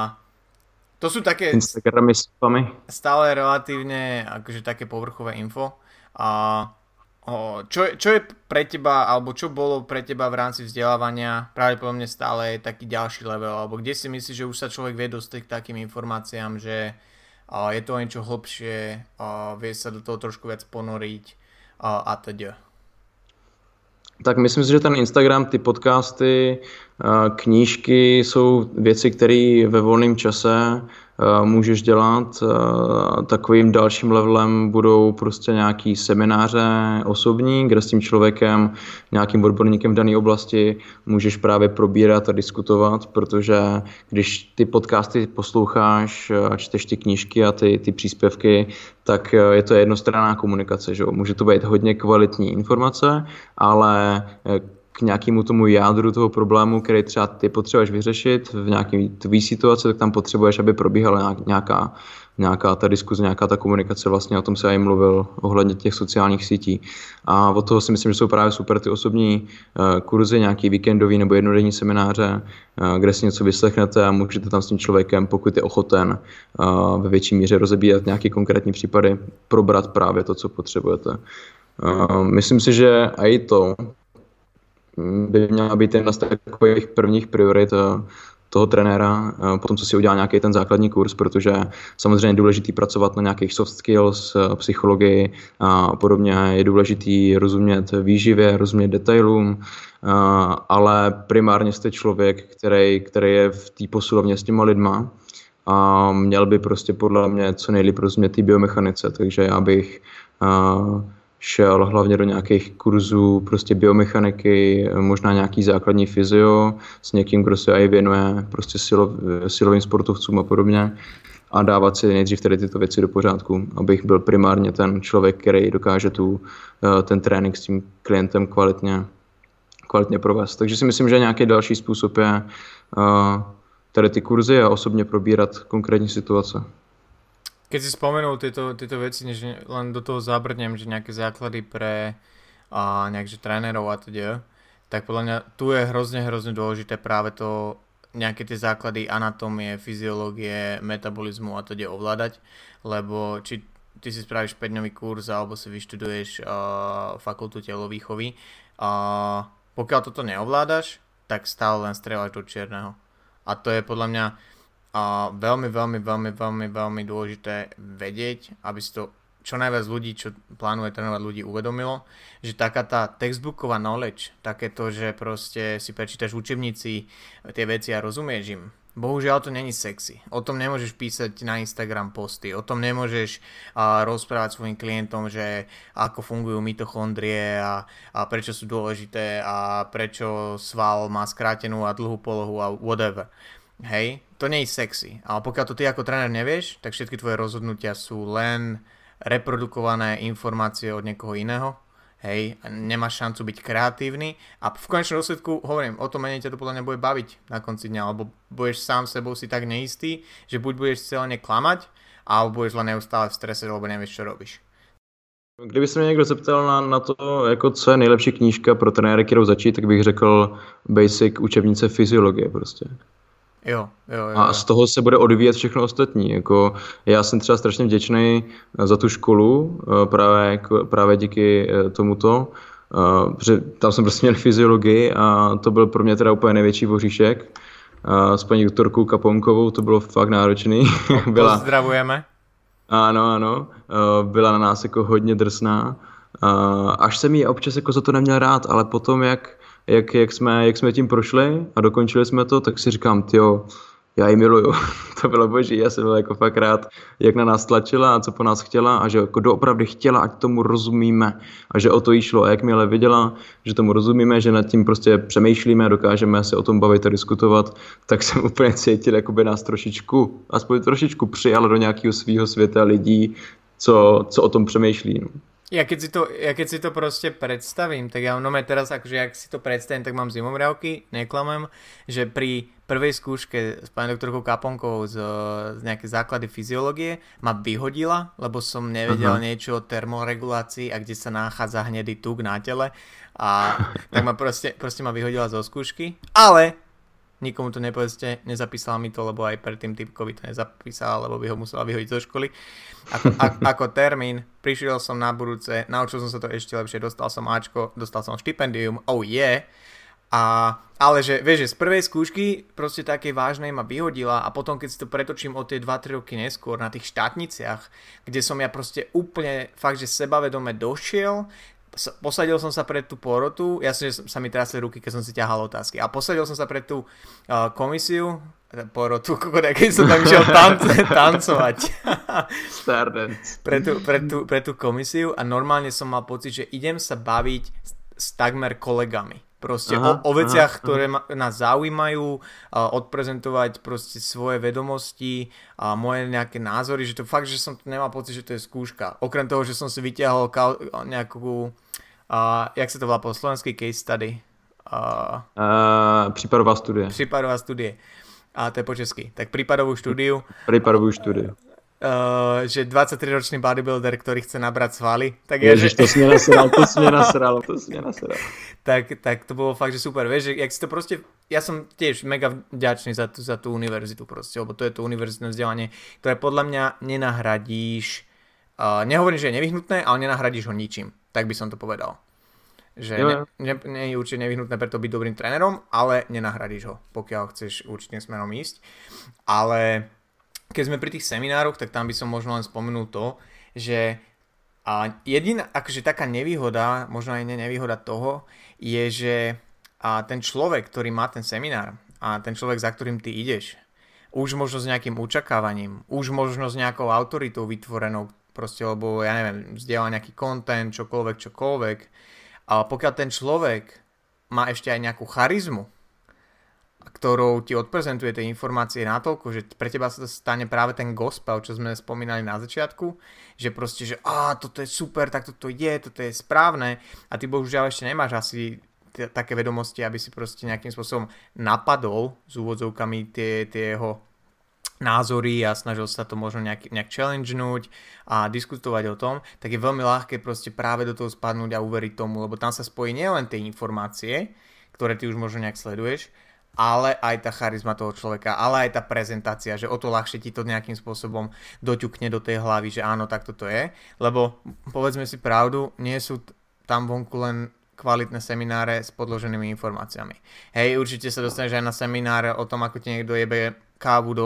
to sú také Instagramy, spamy. Stále relatívne akože také povrchové info. A čo je pre teba, alebo čo bolo pre teba v rámci vzdelávania pravdepodobne stále je taký ďalší level, alebo kde si myslíš, že už sa človek vie dostať k takým informáciám, že je to niečo hlbšie, vie sa do toho trošku viac ponoriť a teda. Tak myslím si, že ten Instagram, ty podcasty, knížky jsou věci, které ve volném čase můžeš dělat. Takovým dalším levelem budou prostě nějaký semináře osobní, kde s tím člověkem, nějakým odborníkem v dané oblasti můžeš právě probírat a diskutovat, protože když ty podcasty posloucháš a čteš ty knížky a ty příspěvky, tak je to jednostranná komunikace. Že? Může to být hodně kvalitní informace, ale k nějakému tomu jádru toho problému, který třeba ty potřebuješ vyřešit v nějaké tvý situaci, tak tam potřebuješ, aby probíhala nějaká ta diskuze, nějaká ta komunikace, vlastně o tom se já jim mluvil ohledně těch sociálních sítí. A od toho si myslím, že jsou právě super ty osobní kurzy, nějaký víkendový nebo jednodenní semináře, kde si něco vyslechnete a můžete tam s tím člověkem, pokud je ochoten, ve větší míře rozebírat nějaké konkrétní případy, probrat právě to, co potřebujete. Myslím si, že i to by měla být jedna z takových prvních priorit toho trenéra, potom co si udělá nějaký ten základní kurz, protože samozřejmě je důležitý pracovat na nějakých soft skills, psychologii a podobně. Je důležitý rozumět výživě, rozumět detailům, ale primárně jste člověk, který je v té posilovně s těma lidma a měl by prostě podle mě co nejlíp rozumět té biomechanice, takže já bych šel hlavně do nějakých kurzů prostě biomechaniky, možná nějaký základní fyzio s někým, kdo se i věnuje prostě silovým sportovcům a podobně a dávat si nejdřív tady tyto věci do pořádku, abych byl primárně ten člověk, který dokáže ten trénink s tím klientem kvalitně provést. Takže si myslím, že nějaký další způsob je tady ty kurzy a osobně probírat konkrétní situace. Keď si spomenul tieto veci, než len do toho zabrnem, že nejaké základy pre nejakže trénerov a teda, tak podľa mňa tu je hrozne dôležité práve to nejaké tie základy anatómie, fyziológie, metabolizmu a teda ovládať, lebo či ty si spravíš 5-dňový kurz alebo si vyštuduješ fakultu telovýchovy, pokiaľ toto neovládaš, tak stále len strieľaš do čierneho. A to je podľa mňa veľmi dôležité vedieť, aby si to čo najviac ľudí, čo plánuje trénovať ľudí, uvedomilo, že taká tá textbooková knowledge, takéto, že proste si prečítaš v učebnici tie veci a rozumieš im. Bohužiaľ to není sexy. O tom nemôžeš písať na Instagram posty, o tom nemôžeš rozprávať svojim klientom, že ako fungujú mitochondrie a prečo sú dôležité a prečo sval má skrátenú a dlhú polohu a whatever. Hej, to nie je sexy, ale pokiaľ to ty ako tréner nevieš, tak všetky tvoje rozhodnutia sú len reprodukované informácie od niekoho iného. Hej, nemáš šancu byť kreatívny a v konečnom dôsledku, hovorím, o to menej ťa to podľa mňa bude baviť na konci dňa, alebo budeš sám sebou si tak neistý, že buď budeš celé klamať, alebo budeš len neustále v strese, lebo nevieš, čo robíš. Kdyby se mě někdo zeptal na to, jako co je nejlepší knížka pro trenéry, kterou začít, tak bych řekl Basic učebnice fyziologie prostě. Jo. A z toho se bude odvíjet všechno ostatní. Jako já jsem třeba strašně vděčný za tu školu, právě díky tomuto, protože tam jsem prostě měl fyziologii a to byl pro mě teda úplně největší voříšek. S paní doktorkou Kaponkovou to bylo fakt náročný. Pozdravujeme. Ano. Byla na nás jako hodně drsná. Až jsem jí občas jako za to neměl rád, ale potom jak jsme tím prošli a dokončili jsme to, tak si říkám, tyjo, já ji miluju. To bylo boží, já jsem byl jako fakt rád, jak na nás tlačila a co po nás chtěla a že jako doopravdy chtěla, ať tomu rozumíme a že o to jí šlo. A jakmile viděla, že tomu rozumíme, že nad tím prostě přemýšlíme a dokážeme se o tom bavit a diskutovat, tak jsem úplně cítil, jako by nás aspoň trošičku přijala do nějakého svého světa lidí, co o tom přemýšlí. No. Ja keď si to proste predstavím, tak ja teraz, akože ak si to predstavím, tak mám zimomriavky, neklamem, že pri prvej skúške s pani doktorkou Kaponkovou z nejaké základy fyziológie ma vyhodila, lebo som nevedel niečo o termoregulácii a kde sa nachádza hnedý tuk na tele a tak ma proste ma vyhodila zo skúšky, ale nikomu to nepovedzte, nezapísala mi to, lebo aj predtým typkovi to nezapísala, lebo by ho musela vyhodiť zo školy. Ako termín, prišiel som na budúce, naučil som sa to ešte lepšie, dostal som Ačko, dostal som štipendium, oh yeah. Ale že, vieš, že z prvej skúšky proste takej vážnej ma vyhodila a potom keď si to pretočím o tie 2-3 roky neskôr na tých štátniciach, kde som ja proste úplne fakt, že sebavedome došiel, posadil som sa pred tú porotu, jasne, že sa mi trasli ruky, keď som si ťahal otázky a posadil som sa pred tú komisiu, porotu, keď som tam išiel tancovať pre tú komisiu a normálne som mal pocit, že idem sa baviť s takmer kolegami. Proste o veciach, ktoré nás zaujímajú, odprezentovať proste svoje vedomosti a moje nejaké názory, že to fakt, že som to nemal pocit, že to je skúška. Okrem toho, že som si vyťahol nejakú, jak sa to volá po slovenskej case study, Případová studie. Případová studie. A to je po česky. Tak prípadovú štúdiu. Prípadovú štúdiu. Že 23-ročný bodybuilder, ktorý chce nabrať svaly. Tak Ježiš, to si mňa nasral. Tak to bolo fakt, že super. Vieš, že jak si to proste... Ja som tiež mega vďačný za tú univerzitu proste, lebo to je to univerzitné vzdelanie, ktoré podľa mňa nenahradíš... nehovorím, že je nevyhnutné, ale nenahradíš ho ničím. Tak by som to povedal. Že nie je určite nevyhnutné preto byť dobrým trénerom, ale nenahradíš ho, pokiaľ chceš určitým smerom ísť. Ale... Keď sme pri tých seminároch, tak tam by som možno len spomenul to, že jediná akože taká nevýhoda, možno aj nevýhoda toho, je, že ten človek, ktorý má ten seminár a ten človek, za ktorým ty ideš, už možno s nejakým očakávaním, už možno s nejakou autoritou vytvorenou, proste, lebo ja neviem, zdieľa nejaký content, čokoľvek. A pokiaľ ten človek má ešte aj nejakú charizmu, ktorou ti odprezentuje tie informácie natoľko, že pre teba sa to stane práve ten gospel, čo sme spomínali na začiatku, že proste, že toto je super, tak toto je správne a ty bohužiaľ ešte nemáš asi také vedomosti, aby si proste nejakým spôsobom napadol s úvodzovkami tie jeho názory a snažil sa to možno nejak challengenúť a diskutovať o tom, tak je veľmi ľahké proste práve do toho spadnúť a uveriť tomu, lebo tam sa spojí nielen tie informácie, ktoré ty už možno nejak sleduješ, ale aj tá charizma toho človeka, ale aj tá prezentácia, že o to ľahšie ti to nejakým spôsobom doťukne do tej hlavy, že áno, tak toto je, lebo povedzme si pravdu, nie sú tam vonku len kvalitné semináre s podloženými informáciami. Hej, určite sa dostaneš aj na semináre o tom, ako ti niekto jebe kávu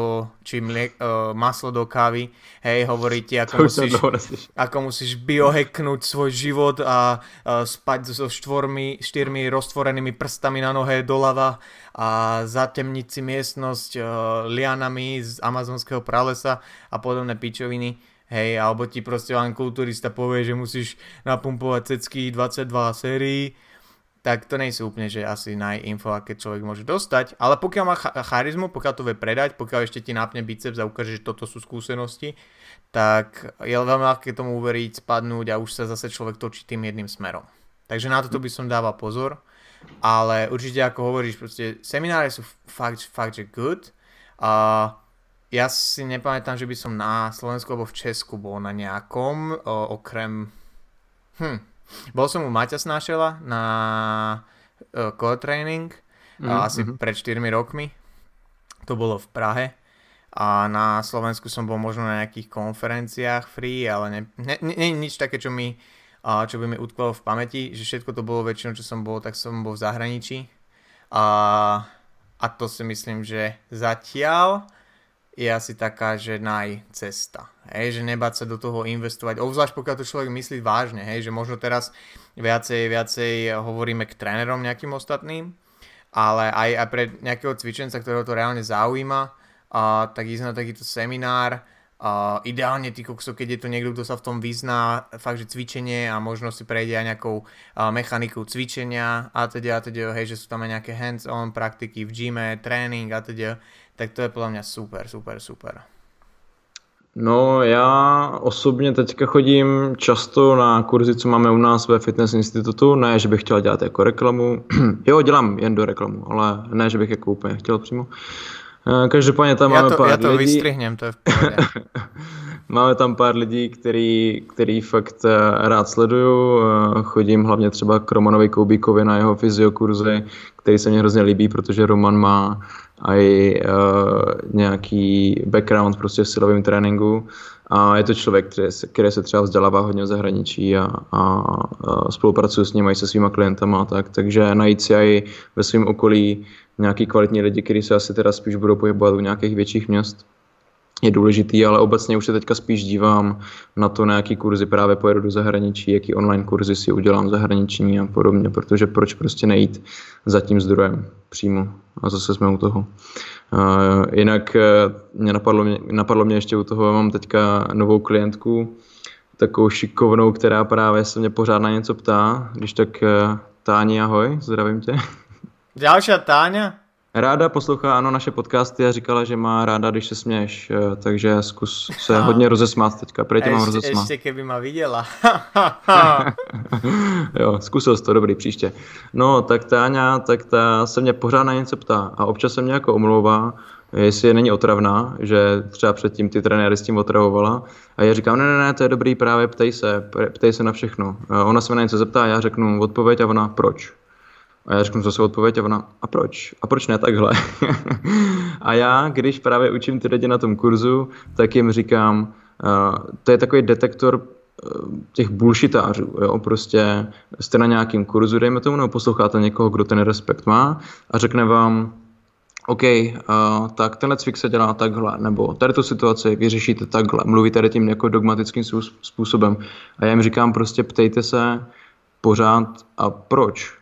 maslo do kávy, hej, hovorí ti, ako musíš biohacknúť svoj život a spať so štyrmi roztvorenými prstami na nohe doľava a zatemniť si miestnosť lianami z amazonského pralesa a podobné pičoviny. Hej, alebo ti proste len kulturista povie, že musíš napumpovať cecky 22 sérií, tak to nie sú úplne, že asi najinfo, aké človek môže dostať, ale pokiaľ má charizmu, pokiaľ to vie predať, pokiaľ ešte ti nápne biceps a ukáže, že toto sú skúsenosti, tak je veľmi ľahké tomu uveriť, spadnúť a už sa zase človek točí tým jedným smerom. Takže na toto by som dával pozor, ale určite ako hovoríš, proste semináre sú fakt že good a ja si nepamätám, že by som na Slovensku alebo v Česku bol na nejakom, okrem... Bol som u Maťa Snášela na core training, asi pred 4 rokmi. To bolo v Prahe. A na Slovensku som bol možno na nejakých konferenciách free, ale nič také, čo by mi utkvalo v pamäti, že všetko to bolo väčšinou, čo som bol, tak som bol v zahraničí. A to si myslím, že zatiaľ je asi taká, že cesta. Hej, že nebáť sa do toho investovať. Obzvlášť pokiaľ to človek myslí vážne. Hej, že možno teraz viacej hovoríme k trénerom nejakým ostatným, ale aj pre nejakého cvičenca, ktorého to reálne zaujíma, tak ísť na takýto seminár. Ideálne ty kokso, keď je to niekto, kto sa v tom vyzná, fakt, že cvičenie a možno si prejde aj nejakou mechanikou cvičenia a teda, hej, že sú tam aj nejaké hands-on praktiky v gyme, tréning a teda, tak to je podľa mňa super. No já osobně teďka chodím často na kurzy, co máme u nás ve Fitness institutu, ne, že bych chtěl dělat jako reklamu, jo, dělám jen do reklamu, ale ne, že bych jako úplně chtěl přímo. Každopádně tam máme pár lidí. Já to vystrihnem, to je v pohodě. Máme tam pár lidí, který fakt rád sleduju. Chodím hlavně třeba k Romanovi Koubíkovi na jeho fyziokurzy, který se mně hrozně líbí, protože Roman má aj nějaký background prostě v silovém tréninku. A je to člověk, který se třeba vzdělává hodně v zahraničí a spolupracuje s ním i se svýma klientama. Takže najít si aj ve svém okolí nějaký kvalitní lidi, kteří se asi teda spíš budou pohybovat u nějakých větších měst, je důležitý, ale obecně už se teďka spíš dívám na to, na jaký kurzy právě pojedu do zahraničí, jaký online kurzy si udělám v zahraničí a podobně, protože proč prostě nejít za tím zdrojem přímo a zase jsme u toho. Jinak napadlo mě ještě u toho, mám teďka novou klientku, takovou šikovnou, která právě se mě pořád na něco ptá, když tak Táni, ahoj, zdravím tě. Ďalšia Táňa? Ráda poslouchá, ano, naše podcasty a říkala, že má ráda, když se směješ, takže zkus se hodně rozesmát teďka, prej tě mám rozesmát. Ještě keby ma viděla. Jo, zkusil jsi to, dobrý, příště. No, tak Táňa, tak ta se mě pořád na něco ptá a občas se mě jako omlouvá, jestli není otravná, že třeba předtím ty trenéry s tím otravovala a já říkám, ne, to je dobrý, právě ptej se na všechno. Ona se mě na něco zeptá, já řeknu odpověď a ona proč. A já řeknu zase odpověď a ona, a proč? A proč ne takhle? A já, když právě učím ty lidi na tom kurzu, tak jim říkám, to je takový detektor těch bullshitářů, jo, prostě jste na nějakým kurzu, dejme tomu, nebo posloucháte někoho, kdo ten respekt má a řekne vám, OK, tak tenhle cvik se dělá takhle, nebo tady tu situaci vyřešíte takhle, mluví tady tím jako dogmatickým způsobem. A já jim říkám prostě ptejte se pořád a proč?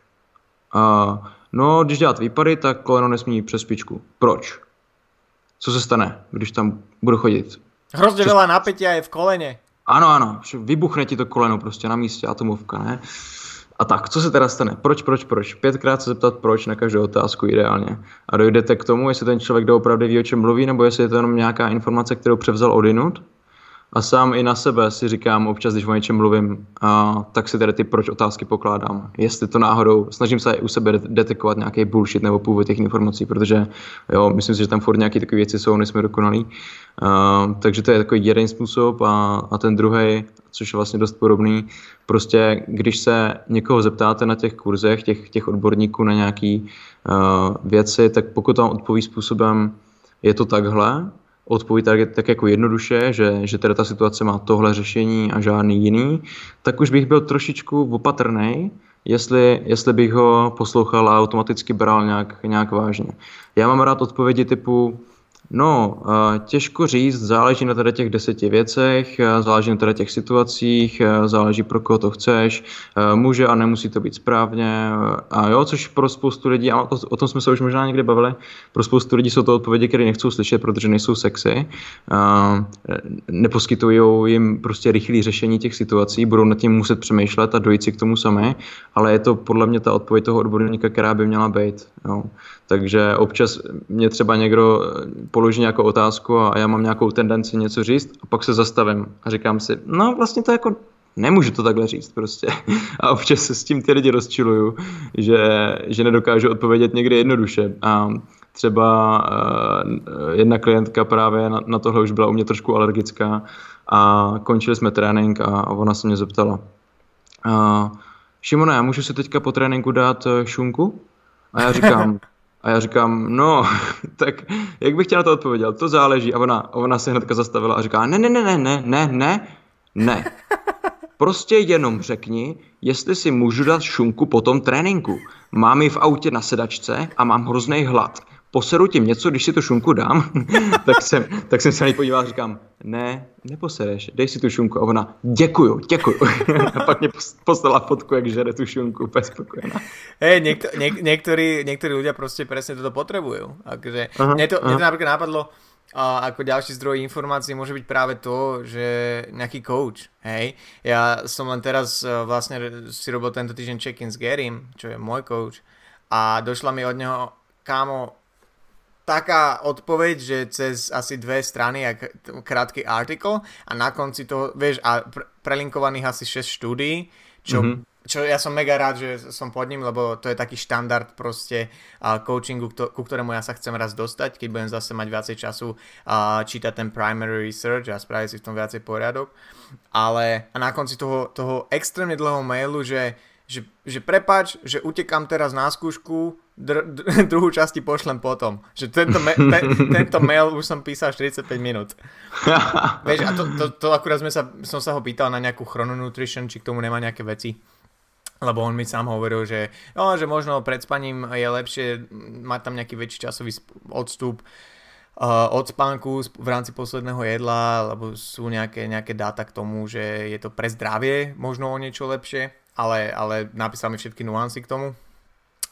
No, když dělat výpady, tak koleno nesmí přes špičku. Proč? Co se stane, když tam budu chodit? Hrozně veľa napätia je v kolene. Ano, vybuchne ti to koleno prostě na místě, atomovka, ne? A tak, co se teda stane? Proč? 5krát se zeptat proč na každou otázku ideálně. A dojdete k tomu, jestli ten člověk doopravdy ví, o čem mluví, nebo jestli je to jenom nějaká informace, kterou převzal odinut. A sám i na sebe si říkám občas, když o něčem mluvím, tak si tady ty proč otázky pokládám. Jestli to náhodou, snažím se u sebe detekovat nějaký bullshit nebo původ těch informací, protože jo, myslím si, že tam furt nějaké takové věci jsou, nejsme dokonalí. Takže to je takový jeden způsob a ten druhý, což je vlastně dost podobný, prostě když se někoho zeptáte na těch kurzech, těch odborníků na nějaké věci, tak pokud vám odpoví způsobem je to takhle, odpoví tak jako jednoduše, že teda ta situace má tohle řešení a žádný jiný, tak už bych byl trošičku opatrnej, jestli bych ho poslouchal a automaticky bral nějak vážně. Já mám rád odpovědi typu no, těžko říct, záleží na tady těch 10 věcech, záleží na tady těch situacích, záleží pro koho to chceš, může a nemusí to být správně a jo, což pro spoustu lidí, a o tom jsme se už možná někdy bavili, pro spoustu lidí jsou to odpovědi, které nechcou slyšet, protože nejsou sexy, neposkytují jim prostě rychlé řešení těch situací, budou nad tím muset přemýšlet a dojít si k tomu sami, ale je to podle mě ta odpověď toho odborníka, která by měla být, jo. Takže občas mě třeba někdo položí nějakou otázku a já mám nějakou tendenci něco říct a pak se zastavím a říkám si, no vlastně to jako nemůžu to takhle říct prostě. A občas se s tím ty lidi rozčiluju, že nedokážu odpovědět někdy jednoduše. A třeba jedna klientka právě na tohle už byla u mě trošku alergická a končili jsme trénink a ona se mě zeptala, Šimone, můžu si teďka po tréninku dát šunku? A já říkám, no, tak jak bych tě na to odpověděl? To záleží. A ona se hnedka zastavila a říká, ne. Prostě jenom řekni, jestli si můžu dát šunku po tom tréninku. Mám ji v autě na sedačce a mám hrozný hlad. Poseru tím něco, když si tu šunku dám? tak jsem se na ní podíval a říkám, ne, neposereš, dej si tu šunku. A ona, děkuju. A pak mě poslala fotku, jak žere tu šunku, úplně spokojená. Hej, niektorí ľudia proste presne toto potrebujú. Takže mne to napríklad napadlo, ako ďalší zdroj informácií môže byť práve to, že nejaký coach, hej. Ja som len teraz vlastne si robil tento týždeň check-in s Garym, čo je môj coach, a došla mi od neho, kámo, taká odpoveď, že cez asi 2 strany, jak krátky artikel a na konci toho, vieš, a prelinkovaných asi 6 štúdií, čo ja som mega rád, že som pod ním, lebo to je taký štandard proste coachingu, ku ktorému ja sa chcem raz dostať, keď budem zase mať viacej času čítať ten primary research a spraviť si v tom viacej poriadok. Ale a na konci toho extrémne dlhého mailu, že prepáč, že utekám teraz na skúšku, druhú časti pošlem potom. Že tento mail už som písal 45 minút. Vieš, a to akurát som sa ho pýtal na nejakú chrononutrition, či k tomu nemá nejaké veci. Lebo on mi sám hovoril, že možno pred spaním je lepšie mať tam nejaký väčší časový odstup od spánku v rámci posledného jedla, lebo sú nejaké dáta k tomu, že je to pre zdravie možno o niečo lepšie, ale napísal mi všetky nuancy k tomu.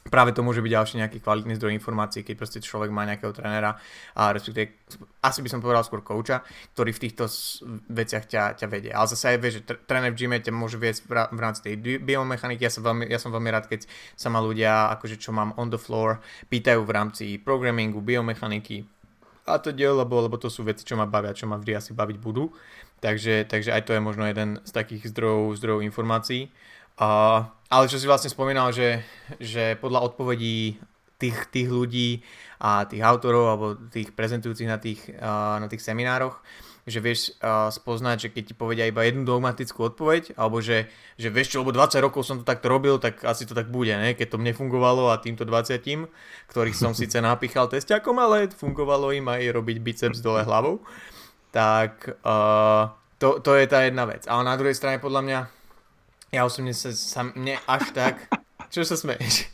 práve to môže byť ďalší nejaký kvalitný zdroj informácií, keď proste človek má nejakého trénera, a respektíve asi by som povedal skôr kouča, ktorý v týchto veciach ťa vedie. Ale zase aj vie, že tréner v gyme ťa môže viesť v rámci tej biomechaniky. Ja som veľmi rád, keď sa ma ľudia, akože čo mám on the floor, pýtajú v rámci programmingu, biomechaniky a to lebo to sú veci, čo ma bavia, čo ma vždy asi baviť budú. Takže aj to je možno jeden z takých zdrojov informácií. Ale čo si vlastne spomínal, že podľa odpovedí tých ľudí a tých autorov alebo tých prezentujúcich na tých seminároch, že vieš spoznať, že keď ti povedia iba jednu dogmatickú odpoveď, alebo že vieš čo, lebo 20 rokov som to takto robil, tak asi to tak bude, ne? Keď to mne fungovalo a týmto 20, ktorých som síce napíchal testiakom, ale fungovalo im aj robiť biceps dole hlavou, tak to je tá jedna vec. Ale na druhej strane podľa mňa ja osobne sa mne až tak... Čo sa smeješ?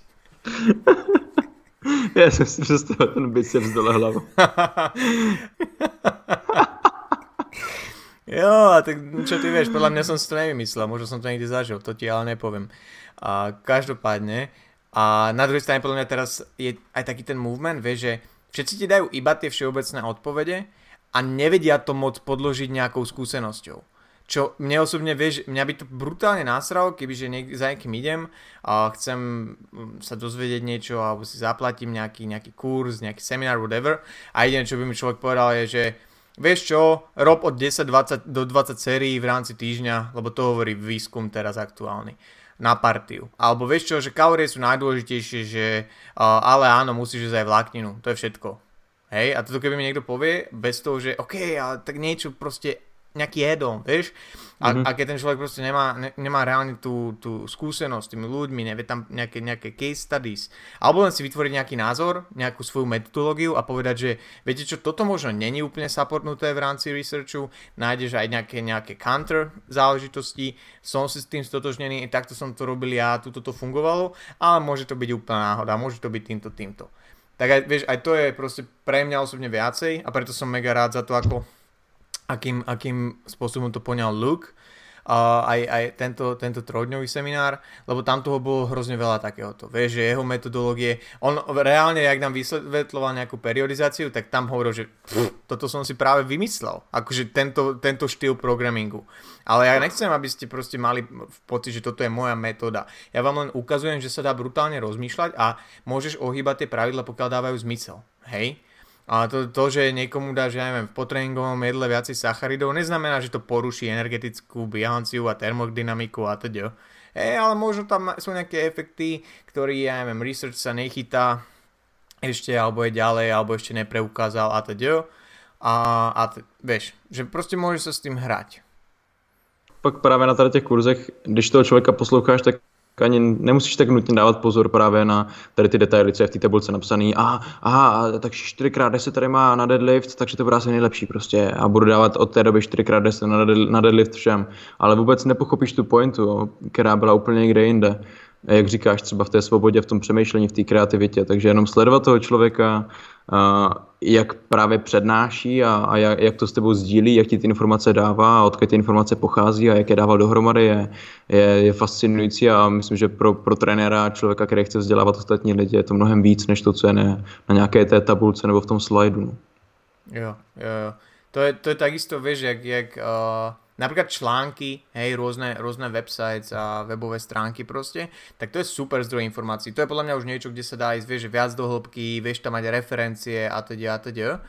Ja som si predstavil ten biceps dole hlavou. Jo, a tak čo ty vieš, podľa mňa som si to nevymyslel, možno som to niekde zažil, to ti ale nepoviem. Každopádne, a na druhej strane podľa mňa teraz je aj taký ten movement, vieš, že všetci ti dajú iba tie všeobecné odpovede a nevedia to moc podložiť nejakou skúsenosťou. Čo mne osobne, vieš, mňa by to brutálne násralo, kebyže za niekým idem a chcem sa dozvedieť niečo alebo si zaplatím nejaký kurz, nejaký seminár, whatever, a idem, čo by mi človek povedal je, že vieš čo, rob od 10 do 20 sérií v rámci týždňa, lebo to hovorí výskum teraz aktuálny, na partiu. Alebo vieš čo, že kalórie sú najdôležitejšie, že ale áno, musíš ísť aj vlákninu, to je všetko. Hej, a toto keby mi niekto povie, bez toho, že OK, ale tak niečo proste nejaký jedol, vieš? A keď ten človek proste nemá reálne tú skúsenosť s tými ľuďmi, nevie tam nejaké case studies, alebo len si vytvoriť nejaký názor, nejakú svoju metodológiu a povedať, že viete čo, toto možno není úplne supportnuté v rámci researchu, nájdeš aj nejaké counter záležitosti, som si s tým stotožnený, takto som to robil ja, tuto to fungovalo, ale môže to byť úplná náhoda, môže to byť týmto. Tak aj, vieš, aj to je proste pre mňa osobne viacej a preto som mega rád za to, akým spôsobom to poňal Luke, aj tento trojdňový seminár, lebo tam toho bolo hrozne veľa takéhoto. Vieš, že jeho metodológie, on reálne, jak nám vysvetľoval nejakú periodizáciu, tak tam hovoril, že toto som si práve vymyslel, akože tento štýl programmingu. Ale ja nechcem, aby ste proste mali pocit, že toto je moja metóda. Ja vám len ukazujem, že sa dá brutálne rozmýšľať a môžeš ohýbať tie pravidla, pokiaľ dávajú zmysel. Hej? A to, že niekomu dáš, ja neviem, v potréningovom jedle viacej sacharidov, neznamená, že to poruší energetickú bilanciu a termodynamiku a teda. Ale možno tam sú nejaké efekty, ktorý, ja neviem, research sa nechytá ešte, alebo je ďalej, alebo ešte nepreukázal a teda. Vieš, že proste môžeš sa s tým hrať. Pak právě na těch kurzech, když toho člověka posloucháš, tak ani nemusíš tak nutně dávat pozor právě na tady ty detaily, co je v té tabulce napsaný. Takže 4x10 tady má na deadlift, takže to bude asi nejlepší prostě. A budu dávat od té doby 4x10 na deadlift všem. Ale vůbec nepochopíš tu pointu, která byla úplně někde jinde. Jak říkáš, třeba v té svobodě, v tom přemýšlení, v té kreativitě. Takže jenom sledovat toho člověka, jak právě přednáší a jak to s tebou sdílí, jak ti ty informace dává a odkud ty informace pochází a jak je dával dohromady, je fascinující a myslím, že pro trenéra, člověka, který chce vzdělávat ostatní lidi, je to mnohem víc, než to, co je na nějaké té tabulce nebo v tom slajdu. No. Jo. To je takisto, vieš, jak napríklad články, hej, rôzne websites a webové stránky proste, tak to je super zdroj informácií. To je podľa mňa už niečo, kde sa dá ísť, vieš, viac do hĺbky, vieš tam mať referencie a teda.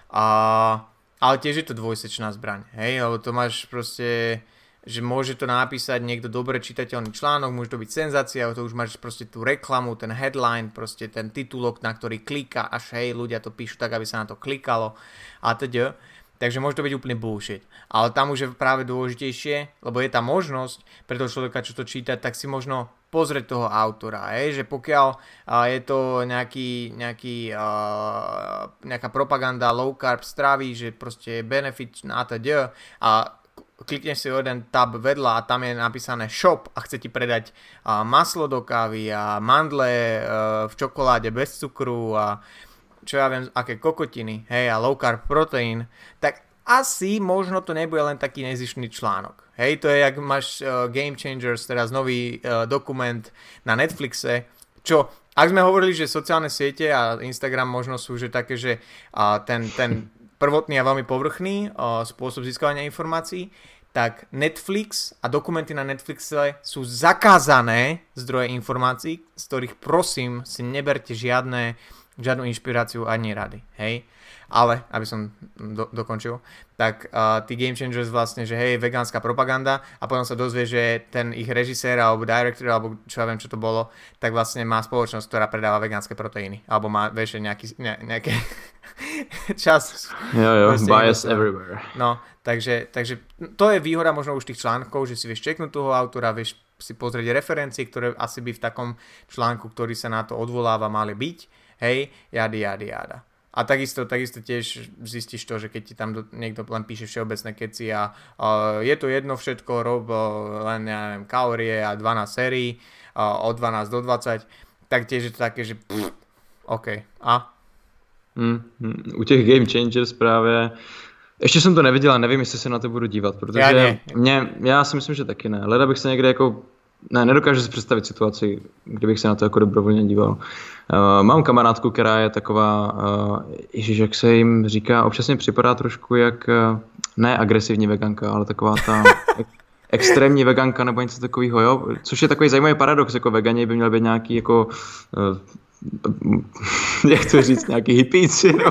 Ale tiež je to dvojsečná zbraň, hej, lebo to máš proste, že môže to napísať niekto dobre čitateľný článok, môže to byť senzácia, to už máš proste tú reklamu, ten headline, proste ten titulok, na ktorý klika, až hej, ľudia to píšu tak, aby sa na to klikalo a teda. Takže môže to byť úplne bullshit. Ale tam už je práve dôležitejšie, lebo je tá možnosť pre toho človeka, čo to číta, tak si možno pozrieť toho autora. Že pokiaľ je to nejaká propaganda low carb stravy, že proste je benefit a teda a klikneš si jeden tab vedľa a tam je napísané shop a chce ti predať maslo do kávy a mandle v čokoláde bez cukru a čo ja viem, aké kokotiny, hej, a low carb protein, tak asi možno to nebude len taký nezištný článok. Hej, to je, jak máš Game Changers, teraz nový dokument na Netflixe, čo ak sme hovorili, že sociálne siete a Instagram možno sú že také, že ten prvotný a veľmi povrchný spôsob získavania informácií, tak Netflix a dokumenty na Netflixe sú zakázané zdroje informácií, z ktorých prosím si neberte žiadnu inšpiráciu ani rady, hej. Ale, aby som dokončil, tak tí Game Changers vlastne, že hej, vegánska propaganda a potom sa dozvie, že ten ich režisér alebo director, alebo čo ja viem, čo to bolo, tak vlastne má spoločnosť, ktorá predáva vegánske proteíny. Alebo má vieš, nejaké čas. Jo, bias everywhere. No, takže to je výhoda možno už tých článkov, že si vieš čeknúť toho autora, vieš si pozrieť referencie, ktoré asi by v takom článku, ktorý sa na to odvoláva, mali byť. Hej, jada. A takisto tiež zistíš to, že keď ti tam niekto len píše všeobecné keci a je to jedno všetko, rob len, ja neviem, kalórie a 12 sérií od 12 do 20, tak tiež je to také, že OK. A? U těch Game Changers právě ještě jsem to neviděl a nevím, jestli se na to budu dívat, protože já si myslím, že taky ne. Leda bych se někde jako nedokážu si představit situaci, kdybych se na to jako dobrovolně díval. Mám kamarádku, která je taková, ježiš, jak se jim říká, občas mi připadá trošku jak, ne agresivní veganka, ale taková ta extrémní veganka nebo něco takového, jo? Což je takový zajímavý paradox, jako vegani by měli být nějaký jako jak to říct, nějaký hippíci, no.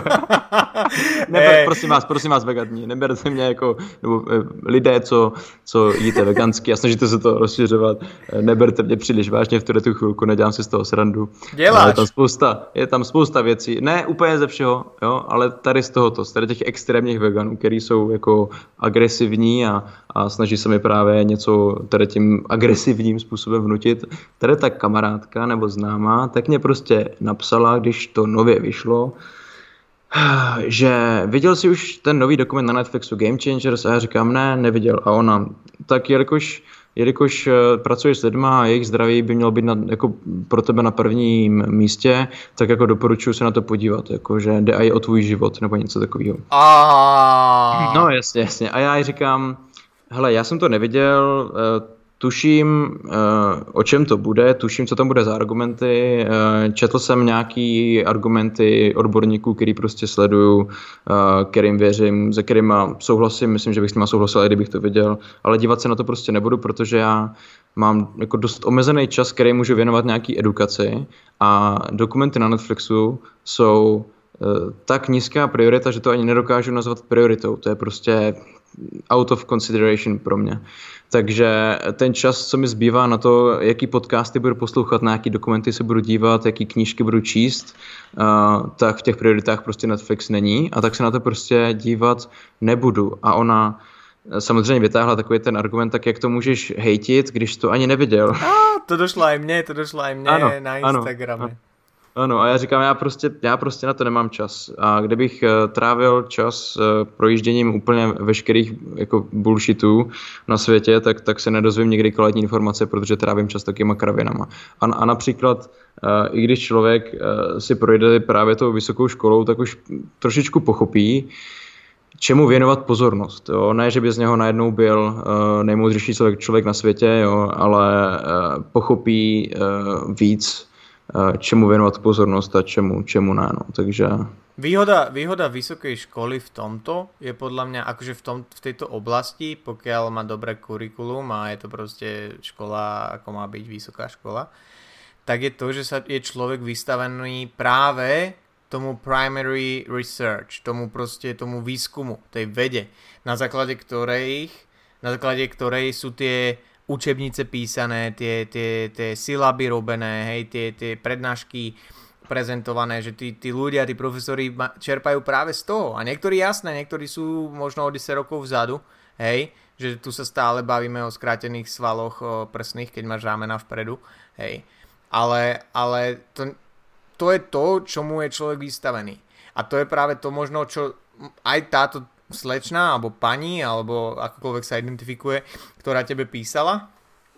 Prosím vás veganí, neberte mě jako, nebo lidé, co jíte vegansky a snažíte se to rozšiřovat, neberte mě příliš vážně v tu chvilku, nedělám si z toho srandu. Je tam spousta věcí, ne úplně ze všeho, jo, ale tady z tohoto, z tady těch extrémních veganů, který jsou jako agresivní a snaží se mi právě něco tady tím agresivním způsobem vnutit. Tady ta kamarádka nebo známá, tak mě prostě napsala, když to nově vyšlo, že viděl jsi už ten nový dokument na Netflixu Game Changers a já říkám, ne, neviděl. A ona, tak jelikož pracuješ s lidma a jejich zdraví by mělo být jako pro tebe na prvním místě, tak jako doporučuji se na to podívat, jakože jde i o tvůj život nebo něco takového. No jasně. A já jí říkám, hele, já jsem to neviděl, tuším, o čem to bude, tuším, co tam bude za argumenty, četl jsem nějaký argumenty odborníků, který prostě sleduju, kterým věřím, se kterýma souhlasím, myslím, že bych s nima souhlasil, i kdybych to viděl, ale dívat se na to prostě nebudu, protože já mám jako dost omezený čas, který můžu věnovat nějaký edukaci a dokumenty na Netflixu jsou tak nízká priorita, že to ani nedokážu nazvat prioritou, to je prostě out of consideration pro mě. Takže ten čas, co mi zbývá na to, jaký podcasty budu poslouchat, na jaký dokumenty se budu dívat, jaký knížky budu číst, tak v těch prioritách prostě Netflix není a tak se na to prostě dívat nebudu. A ona samozřejmě vytáhla takový ten argument, tak jak to můžeš hejtit, když to ani neviděl. To došlo aj mne ano, na Instagrame. Ano, a já říkám, já prostě na to nemám čas. A kdybych trávil čas projížděním úplně veškerých jako bullshitů na světě, tak se nedozvím nikdy kvalitní informace, protože trávím čas takýma kravinama. A například, i když člověk si projde právě tou vysokou školou, tak už trošičku pochopí, čemu věnovat pozornost. Jo? Ne, že by z něho najednou byl nejmoudřejší člověk na světě, jo? Ale pochopí víc, čemu věnovat pozornost a čemu ne. No. Takže... Výhoda vysokej školy v tomto je podľa mňa, akože v tejto oblasti, pokiaľ má dobré kurikulum a je to proste škola, ako má byť vysoká škola, tak je to, že je človek vystavený práve tomu primary research, tomu výskumu, tej vede, na základe ktorej sú tie učebnice písané, tie syllaby robené, hej, tie prednášky prezentované, že tí ľudia, tí profesori čerpajú práve z toho. A niektorí jasné, niektorí sú možno o 10 rokov vzadu, hej, že tu sa stále bavíme o skrátených svaloch prsných, keď máš rámena vpredu, hej. Ale to je to, čomu je človek vystavený. A to je práve to možno, čo aj táto slečna, alebo pani, alebo akokoľvek sa identifikuje, ktorá tebe písala,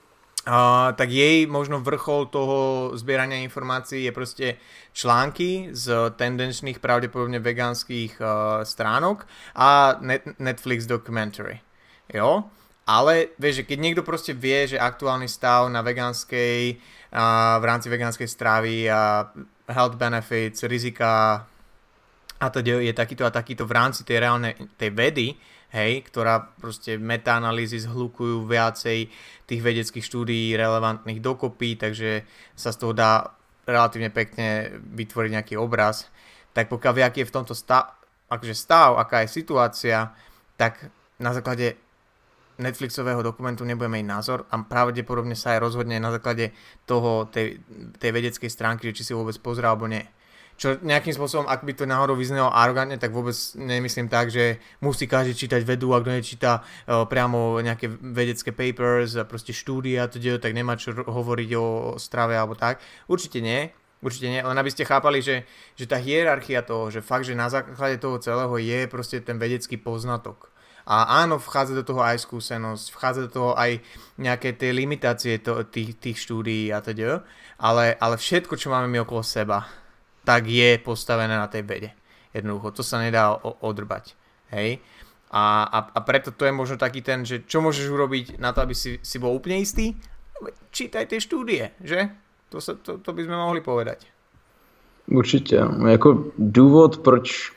tak jej možno vrchol toho zbierania informácií je proste články z tendenčných, pravdepodobne vegánskych stránok a Netflix documentary. Jo? Ale vieš, že keď niekto proste vie, že aktuálny stav na vegánskej, v rámci vegánskej stravy a health benefits, rizika a teda je takýto a takýto v rámci tej reálnej tej vedy, hej, ktorá proste metaanalýzy zhlukujú viacej tých vedeckých štúdií relevantných dokopy, takže sa z toho dá relatívne pekne vytvoriť nejaký obraz, tak pokiaľ vie, aký je v tomto stav, aká je situácia, tak na základe Netflixového dokumentu nebudeme mať názor a pravdepodobne sa aj rozhodne na základe toho, tej vedeckej stránky, že či si vôbec pozrel alebo nie. Čo nejakým spôsobom, ak by to náhodou vyznelo arogantne, tak vôbec nemyslím tak, že musí každý čítať vedu, ak kto nečíta priamo nejaké vedecké papers a proste štúdia, tak nemá čo hovoriť o strave alebo tak. Určite nie, len aby ste chápali, že tá hierarchia toho, že fakt, že na základe toho celého je proste ten vedecký poznatok. A áno, vchádza do toho aj skúsenosť, vchádza do toho aj nejaké tie limitácie tých štúdií a teda, ale všetko, čo máme my okolo seba, tak je postavené na tej vede. Jednoducho, to sa nedá odrbať. Hej? A preto to je možno taký ten, že čo môžeš urobiť na to, aby si bol úplne istý? Čítaj tie štúdie, že? To by sme mohli povedať. Určitě. Jako důvod, proč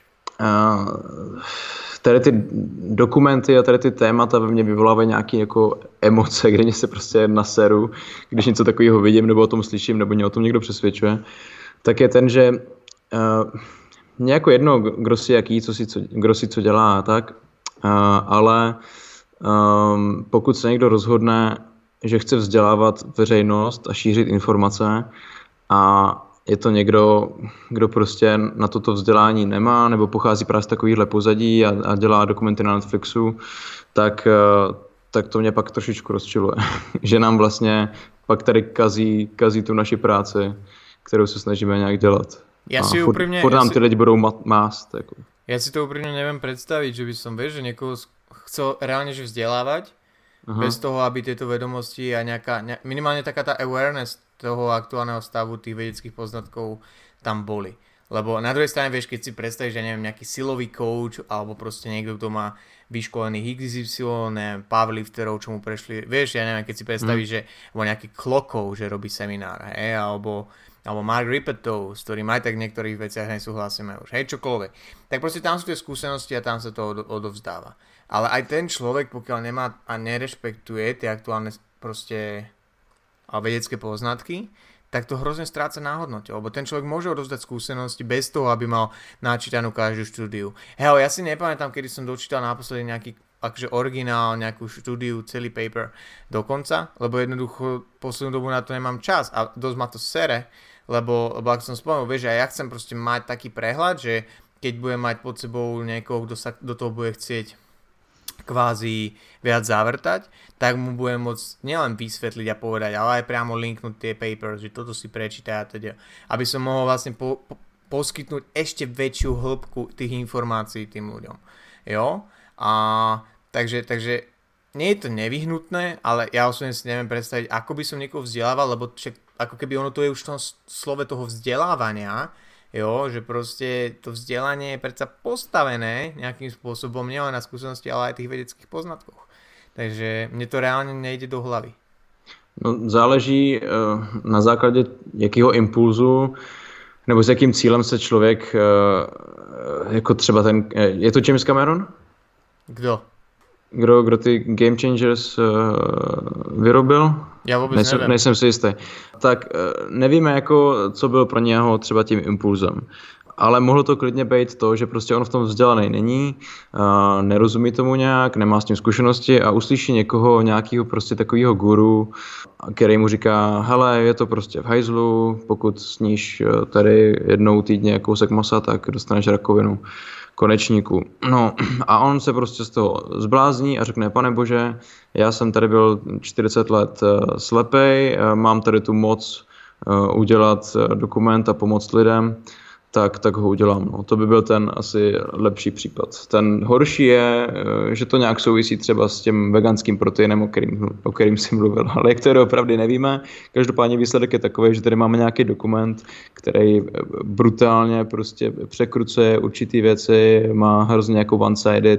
tady ty dokumenty a tady ty témata ve mně vyvolávají nějaké jako emoce, kde mě se prostě naseru, když něco takového vidím, nebo o tom slyším, nebo mě o tom někdo přesvědčuje, tak je ten, že mě jako jedno, kdo si jaký, kdo si co dělá a tak, ale pokud se někdo rozhodne, že chce vzdělávat veřejnost a šířit informace a je to někdo, kdo prostě na toto vzdělání nemá nebo pochází právě z takovýchhle pozadí a dělá dokumenty na Netflixu, tak to mě pak trošičku rozčiluje. Že nám vlastně pak tady kazí tu naši práci, kterou se snažíme nějak dělat. Ja si úprimne... Furt nám ty lidi budou mást. Jako. Ja si to úprimne neviem predstaviť, že by som, vieš, že niekoho chcel reálne že vzdelávať, bez toho, aby tieto vedomosti a minimálne taká tá awareness toho aktuálneho stavu tých vedeckých poznatkov tam boli. Lebo na druhej strane, vieš, keď si predstavíš, že neviem, nejaký silový coach, alebo proste niekto, kto má vyškolených XY, neviem, powerlifterov, čo mu prešli, vieš, ja neviem, keď si predstavíš, že alebo nejaký klokov, že robí seminár, hej, alebo Mark Rippetov, s ktorým aj tak v niektorých veciach nesúhlasíme už, hej, čokoľvek. Tak proste tam sú tie skúsenosti a tam sa to odovzdáva. Ale aj ten človek, pokiaľ nemá a nerešpektuje tie aktuálne proste vedecké poznatky, tak to hrozne stráca na hodnote, lebo ten človek môže odovzdať skúsenosti bez toho, aby mal načítanú každú štúdiu. Hej, ja si nepamätám, kedy som dočítal naposledy nejaký akože originál, nejakú štúdiu, celý paper dokonca, lebo jednoducho poslednú dobu na to nemám čas a dosť ma to sere, lebo ak som spomenul, vieš, ja chcem proste mať taký prehľad, že keď budem mať pod sebou niekoho, kto sa do toho bude chcieť kvázi viac zavrtať, tak mu budem môcť nielen vysvetliť a povedať, ale aj priamo linknúť tie papers, že toto si prečítaj a teda, aby som mohol vlastne poskytnúť ešte väčšiu hĺbku tých informácií tým ľuďom. Jo? A takže nie je to nevyhnutné, ale ja osobne si neviem predstaviť, ako by som niekoho vzdelával, lebo ako keby ono to je už v tom slove toho vzdelávania, jo, že proste to vzdelanie je predsa postavené nejakým spôsobom nielen na skúsenosti, ale aj tých vedeckých poznatkoch. Takže mne to reálne nejde do hlavy. No, záleží na základě jakého impulzu nebo s jakým cílem se člověk jako třeba ten, je to James Cameron? Kdo? Kdo ty Game Changers vyrobil? Já vůbec nevím. Nejsem si jistý. Tak nevíme, jako, co byl pro něho třeba tím impulzem. Ale mohlo to klidně být to, že prostě on v tom vzdělaný není, nerozumí tomu nějak, nemá s tím zkušenosti a uslyší někoho, nějakého prostě takového guru, který mu říká, hele, je to prostě v hajzlu, pokud sníš tady jednou týdně kousek masa, tak dostaneš rakovinu konečníku. No a on se prostě z toho zblázní a řekne, pane bože, já jsem tady byl 40 let slepej, mám tady tu moc udělat dokument a pomoct lidem, tak ho udělám. No. To by byl ten asi lepší případ. Ten horší je, že to nějak souvisí třeba s tím veganským proteinem, o kterým jsi mluvil. Ale jak to je opravdu nevíme. Každopádně výsledek je takový, že tady máme nějaký dokument, který brutálně prostě překrucuje určitý věci, má hrozně jako one-sided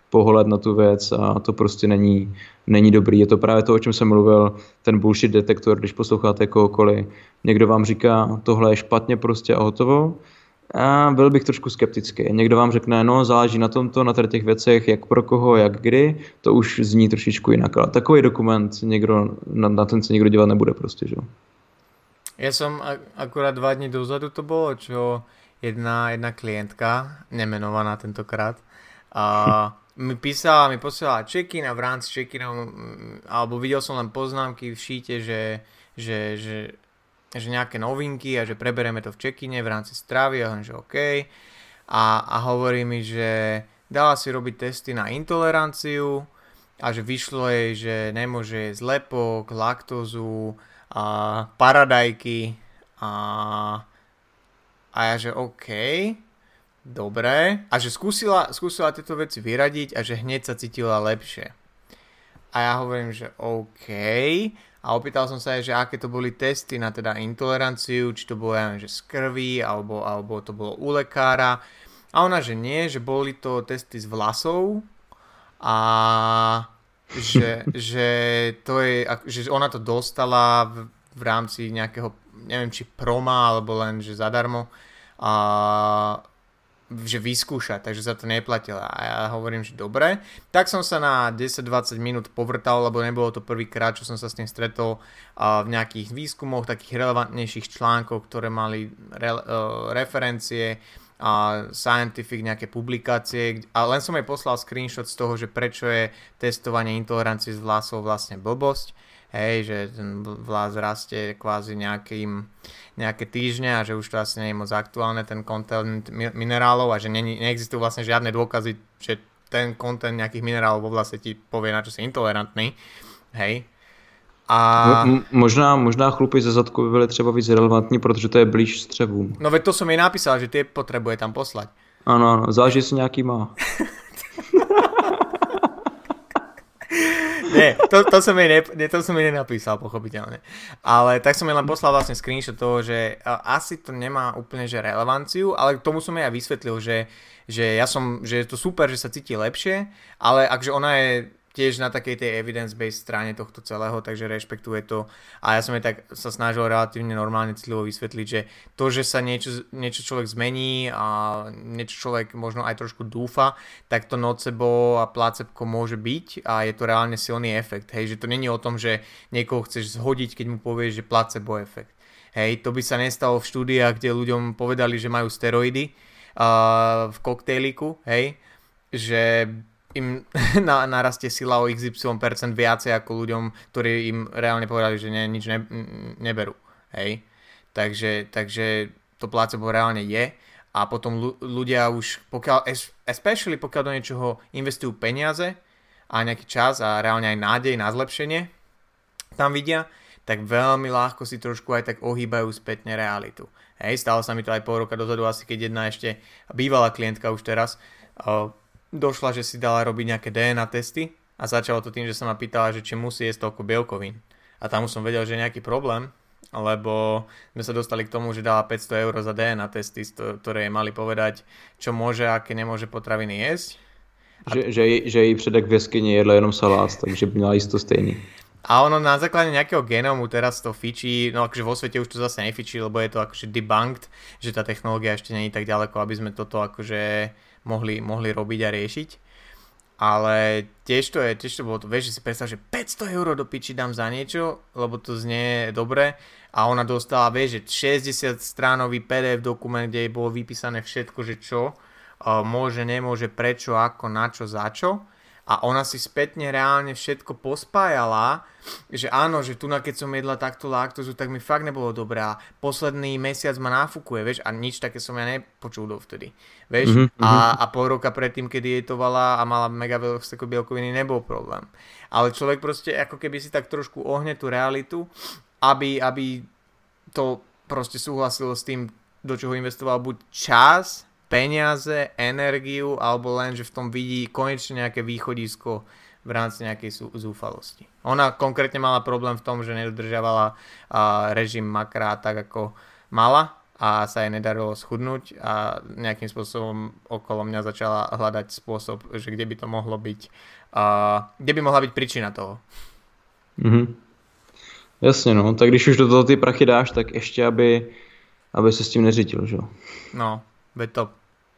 pohled na tu věc a to prostě není dobrý. Je to právě to, o čem jsem mluvil, ten bullshit detektor, když posloucháte kohokoliv. Někdo vám říká, tohle je špatně prostě a hotovo. A byl bych trošku skeptický. Někdo vám řekne, no záleží na tomto, na těch věcech, jak pro koho, jak kdy, to už zní trošičku jinak. Ale takový dokument na ten se nikdo dívat nebude prostě, že? Ja som akurát 2 dní dozadu to bolo, čo jedna klientka, nemenovaná tentokrát, mi posielala check-in a v rámci check-inov, alebo videl som len poznámky v šíte, že nejaké novinky a že preberieme to v check-ine v rámci stravy, a že OK. A hovorí mi, že dala si robiť testy na intoleranciu a že vyšlo jej, že nemôže jesť lepok, laktózu, a paradajky a ja, že OK, dobre, a že skúsila tieto veci vyradiť a že hneď sa cítila lepšie. A ja hovorím, že OK, a opýtal som sa aj, že aké to boli testy na teda intoleranciu, či to bolo, ja neviem, že z krvi, alebo to bolo u lekára. A ona, že nie, že boli to testy z vlasov a že to je, že ona to dostala v rámci nejakého, neviem, či proma, alebo len, že zadarmo, a že vyskúšať, takže sa to neplatila. A ja hovorím, že dobre. Tak som sa na 10-20 minút povrtal, lebo nebolo to prvýkrát, čo som sa s tým stretol v nejakých výskumoch, takých relevantnejších článkov, ktoré mali referencie a scientific, nejaké publikácie, a len som jej poslal screenshot z toho, že prečo je testovanie intolerancie z vlasov vlastne blbosť, hej, že ten vlas rastie kvázi nejaké týždne a že už to asi nie je moc aktuálne, ten content minerálov, a že neexistujú vlastne žiadne dôkazy, že ten content nejakých minerálov vo vlase ti povie, na čo si intolerantný, hej. A... Možná chlupy ze zadku by byly třeba víc relevantní, protože to je blíž střevům. No veď to som jej napísal, že tie potrebuje tam poslať. Ano, záleží si nějaký má. Nie, to som jej nenapísal, pochopiteľne. Ale tak som jej len poslal vlastne screenshot toho, že asi to nemá úplne že relevanciu, ale k tomu som jej aj vysvetlil, že je to super, že sa cíti lepšie, ale akže ona je tiež na takej tej evidence-based strane tohto celého, takže rešpektuje to. A ja som jej tak sa snažil relatívne normálne citlivo vysvetliť, že to, že sa niečo človek zmení a niečo človek možno aj trošku dúfa, tak to nocebo a placebko môže byť a je to reálne silný efekt. Hej, že to není o tom, že niekoho chceš zhodiť, keď mu povieš, že placebo efekt. Hej, to by sa nestalo v štúdiách, kde ľuďom povedali, že majú steroidy v koktejliku, hej, že im narastie sila o XY% viacej ako ľuďom, ktorí im reálne povedali, že nič neberú. Hej? Takže to placebo reálne je a potom ľudia už, especially pokiaľ do niečoho investujú peniaze a nejaký čas a reálne aj nádej na zlepšenie tam vidia, tak veľmi ľahko si trošku aj tak ohýbajú spätne realitu. Hej? Stalo sa mi to aj pol roka dozadu, asi keď jedna ešte bývalá klientka už teraz došla, že si dala robiť nejaké DNA testy a začalo to tým, že sa ma pýtala, že či musí jesť toľko bielkovín. A tam už som vedel, že je nejaký problém, lebo sme sa dostali k tomu, že dala 500 eur za DNA testy, ktoré jej mali povedať, čo môže a aké nemôže potraviny jesť. Že jej předek v jeskyni jedla jenom salát, takže by měla jíst to stejný. A ono na základe nejakého genómu teraz to fičí, no akože vo svete už to zase nefičí, lebo je to akože debunked, že tá technológia ešte nie je tak ďaleko, aby sme toto akože mohli robiť a riešiť. Ale tiež to bolo to, vieš, že si predstav, že 500 eur do piči dám za niečo, lebo to znie dobre, a ona dostala, vieš, že 60 stránový PDF dokument, kde jej bolo vypísané všetko, že čo môže, nemôže, prečo, ako, na čo, za čo. A ona si spätne reálne všetko pospájala, že áno, že tu keď som jedla takto laktózu, tak mi fakt nebolo dobré a posledný mesiac ma náfukuje, vieš, a nič také som ja nepočul dovtedy, vieš, a pol roka predtým, keď dietovala a mala mega veľké bielkoviny, nebol problém. Ale človek proste ako keby si tak trošku ohne tú realitu, aby to proste súhlasilo s tým, do čoho investoval buď čas, peniaze, energiu, alebo len, že v tom vidí konečne nejaké východisko v rámci nejakej zúfalosti. Ona konkrétne mala problém v tom, že nedodržiavala režim makra tak, ako mala, a sa jej nedarilo schudnúť a nejakým spôsobom okolo mňa začala hľadať spôsob, že kde by to mohlo byť, kde by mohla byť príčina toho. Jasně, no, tak když už do toho ty prachy dáš, tak ještě, aby se s tím neřídil, že jo? No, veď to.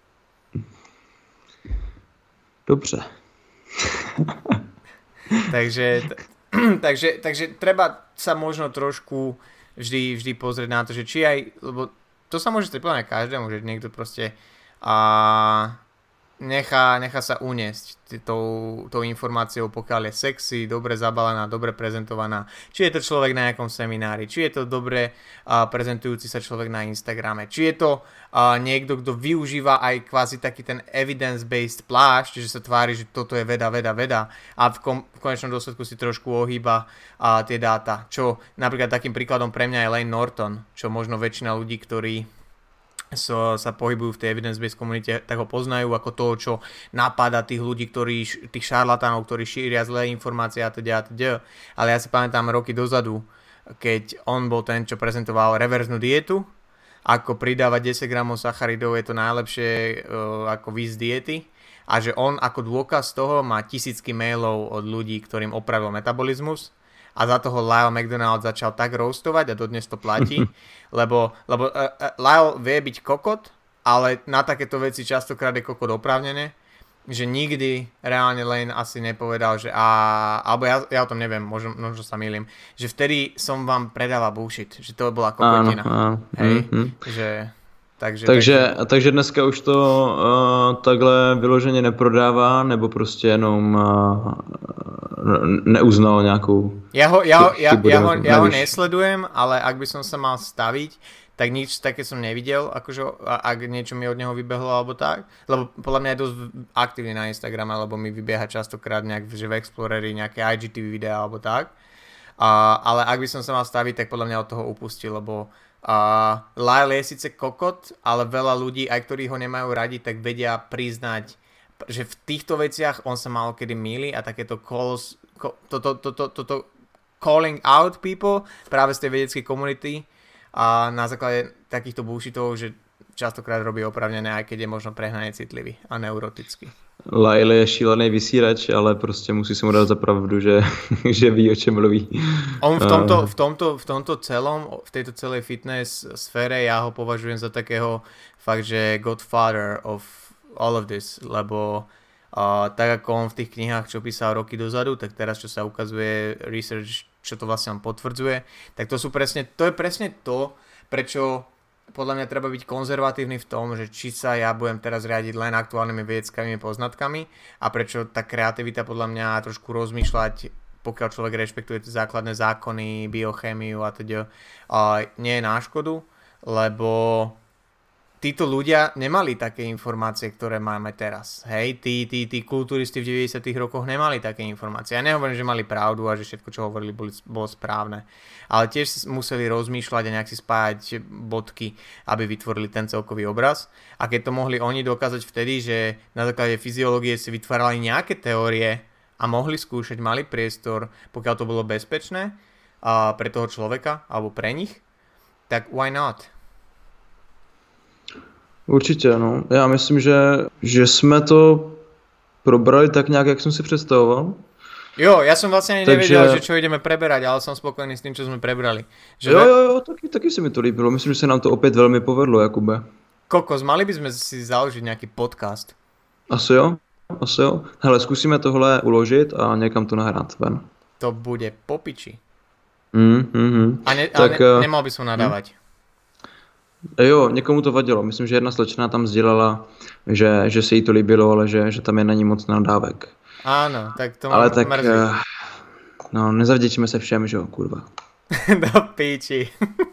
Dobře. takže treba sa možno trošku vždy pozrieť na to, že či aj, lebo to sa môže stať podľa mňa každému, že niekto proste nechá sa uniesť tou informáciou, pokiaľ je sexy, dobre zabalená, dobre prezentovaná. Či je to človek na nejakom seminári, či je to dobre prezentujúci sa človek na Instagrame, či je to niekto, kto využíva aj kvázi taký ten evidence-based plášť, že sa tvári, že toto je veda a v konečnom dôsledku si trošku ohýba tie dáta. Čo napríklad takým príkladom pre mňa je Layne Norton, čo možno väčšina ľudí, ktorí sa pohybujú v tej evidence-based komunite, tak ho poznajú ako toho, čo napáda tých ľudí, tých šarlatánov, ktorí šíria zlé informácie a teda. Ale ja si pamätám roky dozadu, keď on bol ten, čo prezentoval reverznú dietu, ako pridávať 10 gramov sacharidov je to najlepšie ako výjsť z diety a že on ako dôkaz toho má tisícky mailov od ľudí, ktorým opravil metabolizmus. A za toho Lyle McDonald začal tak roastovať a dodnes to platí, lebo Lyle vie byť kokot, ale na takéto veci častokrát je kokot oprávnené, že nikdy reálne Layne asi nepovedal, že alebo ja o tom neviem, možno sa mýlim, že vtedy som vám predával bullshit, že to bola kokotina. Hej, že... Takže dneska už to takhle vyloženě neprodává, nebo prostě jenom neuznal nějakou... Ja ho nesledujem, ale ak by som sa mal staviť, tak nič také som nevidel, akože ak niečo mi od neho vybehlo alebo tak, lebo podľa mňa je dosť aktívny na Instagrame, lebo mi vybieha častokrát nejak že v Exploreri nejaké IGTV videá alebo tak, ale ak by som sa mal staviť, tak podľa mňa od toho upustil, lebo Lyle je síce kokot, ale veľa ľudí, aj ktorí ho nemajú radi, tak vedia priznať, že v týchto veciach on sa málo kedy mýli a takéto calling out people práve z tej vedeckej komunity a na základe takýchto bullshitov, že častokrát robí opravnené, aj keď je možno prehnane citlivý a neurotický. Lyle je šílený vysírač, ale prostě musí se mu dát za pravdu, že ví, o čem mluví. On v tomto celom, v tejto celej fitness sfére ja ho považujem za takého fakt, že godfather of all of this, lebo tak ako on v tých knihách, čo písal roky dozadu, tak teraz, čo sa ukazuje research, čo to vlastne on potvrdzuje, tak to je presne to, prečo podľa mňa treba byť konzervatívny v tom, že či sa ja budem teraz riadiť len aktuálnymi vedeckými poznatkami a prečo tá kreativita podľa mňa trošku rozmýšľať, pokiaľ človek rešpektuje základné zákony, biochémiu a teda nie je na škodu, lebo títo ľudia nemali také informácie, ktoré máme teraz. Hej, tí kulturisti v 90. rokoch nemali také informácie. Ja nehovorím, že mali pravdu a že všetko, čo hovorili, bolo správne. Ale tiež museli rozmýšľať a nejak si spájať bodky, aby vytvorili ten celkový obraz. A keď to mohli oni dokázať vtedy, že na základe fyziológie si vytvárali nejaké teórie a mohli skúšať, mali priestor, pokiaľ to bolo bezpečné pre toho človeka alebo pre nich, tak why not? Určitě, no. Já myslím, že jsme to probrali tak nějak, jak jsem si představoval. Jo, ja som vlastne ani nevedel, že čo ideme preberať, ale som spokojný s tým, čo sme prebrali. Že jo, taky se mi to líbilo. Myslím, že se nám to opět velmi povedlo, Jakube. Kokos, mali by sme si založiť nejaký podcast. Asi jo. Hele, zkusíme tohle uložit a někam to nahrát ven. To bude po piči. Tak, nemal by som nadávať. Jo, někomu to vadilo. Myslím, že jedna slečna tam sdělala, že se jí to líbilo, ale že tam je na ní moc nadávek. Áno, tak to ale tak, no, nezavděčíme se všem, že jo, kurva. Do píči.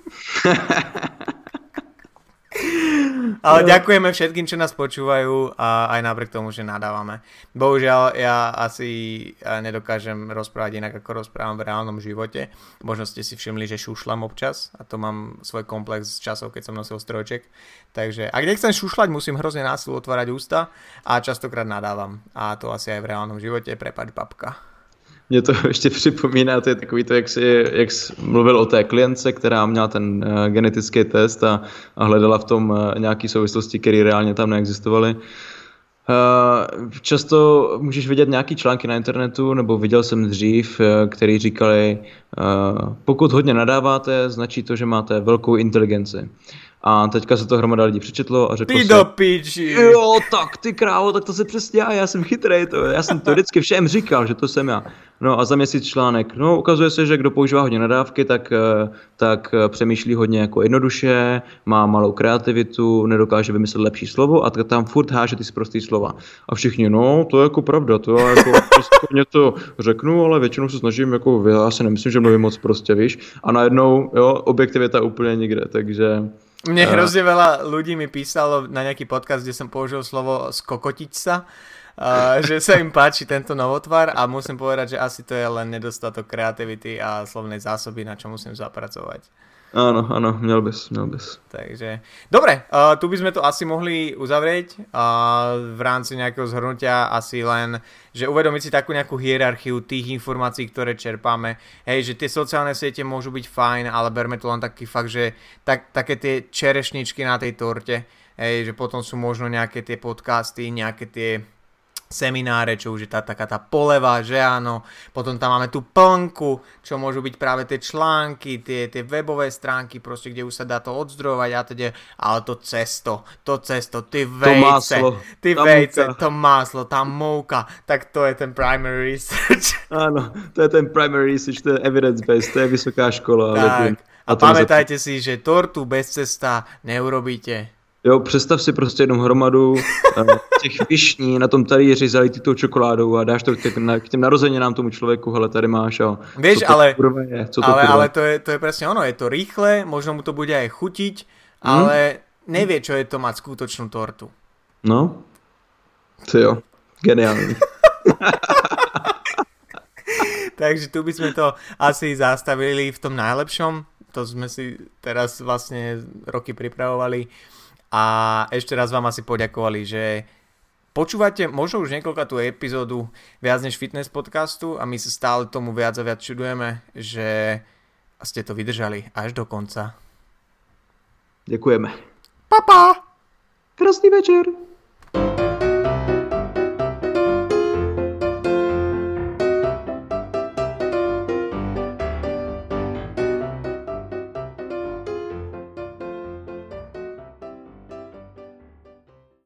Ale ďakujeme všetkým, čo nás počúvajú a aj napriek tomu, že nadávame. Bohužiaľ, ja asi nedokážem rozprávať inak, ako rozprávam v reálnom živote. Možno ste si všimli, že šušľam občas a to mám svoj komplex z časov, keď som nosil strojček. Takže ak nechcem šušľať, musím hrozne násilu otvárať ústa a častokrát nadávam. A to asi aj v reálnom živote. Prepáč, babka. Mě to ještě připomíná, to je takový to, jak jsi mluvil o té klientce, která měla ten genetický test a hledala v tom nějaké souvislosti, které reálně tam neexistovaly. Často můžeš vidět nějaký články na internetu, nebo viděl jsem dřív, který říkali, pokud hodně nadáváte, značí to, že máte velkou inteligenci. A teďka se to hromada lidí přečetlo a řeklo Ty do piči. Jo, tak ty krávo, tak to se přesně já jsem chytrej, já jsem to vždycky všem říkal, že to jsem já. No a za měsíc článek, no ukazuje se, že kdo používá hodně nadávky, tak přemýšlí hodně jako jednoduše, má malou kreativitu, nedokáže vymyslet lepší slovo a tam furt háže ty sprostý slova. A všichni, no to je jako pravda, to já jako něco řeknu, ale většinou se snažím, jako já si nemyslím, že mluvím moc prostě, víš. A najednou, jo, objektivita úplně nikde, takže... Mne hrozne veľa ľudí mi písalo na nejaký podcast, kde som použil slovo skokotiť sa, že sa im páči tento novotvar a musím povedať, že asi to je len nedostatok kreativity a slovnej zásoby, na čo musím zapracovať. Áno, měl bys. Takže, dobre, tu by sme to asi mohli uzavrieť v rámci nejakého zhrnutia asi len, že uvedomiť si takú nejakú hierarchiu tých informácií, ktoré čerpáme. Hej, že tie sociálne siete môžu byť fajn, ale berme to len taký fakt, že také tie čerešničky na tej torte, hej, že potom sú možno nejaké tie podcasty, nejaké tie semináre, čo už je taká tá poleva, že áno, potom tam máme tú plnku, čo môžu byť práve tie články, tie webové stránky, proste, kde už sa dá to odzdrojovať a teda, ale to cesto, ty vejce, to máslo, tá mouka, tak to je ten primary research. Áno, to je ten primary research, to je evidence-based, to je vysoká škola. Tak, a pamätajte si, že tortu bez cesta neurobíte. Jo, představ si prostě jednou hromadu těch višní na tom talíři zalitý tou čokoládou a dáš to k těm narozeninám tomu člověku, hele, tady máš a vieš, co to ale to je presne ono, je to rýchle, možno mu to bude aj chutiť, ale nevie, čo je to mať skutočnú tortu. No, to jo, geniálne. Takže tu by sme to asi zastavili v tom najlepšom, to sme si teraz vlastne roky pripravovali. A ešte raz vám asi poďakovali, že počúvate možno už niekoľkatú epizódu viac než fitness podcastu a my sa stále tomu viac a viac čudujeme, že ste to vydržali až do konca. Ďakujeme. Pa! Krásny večer.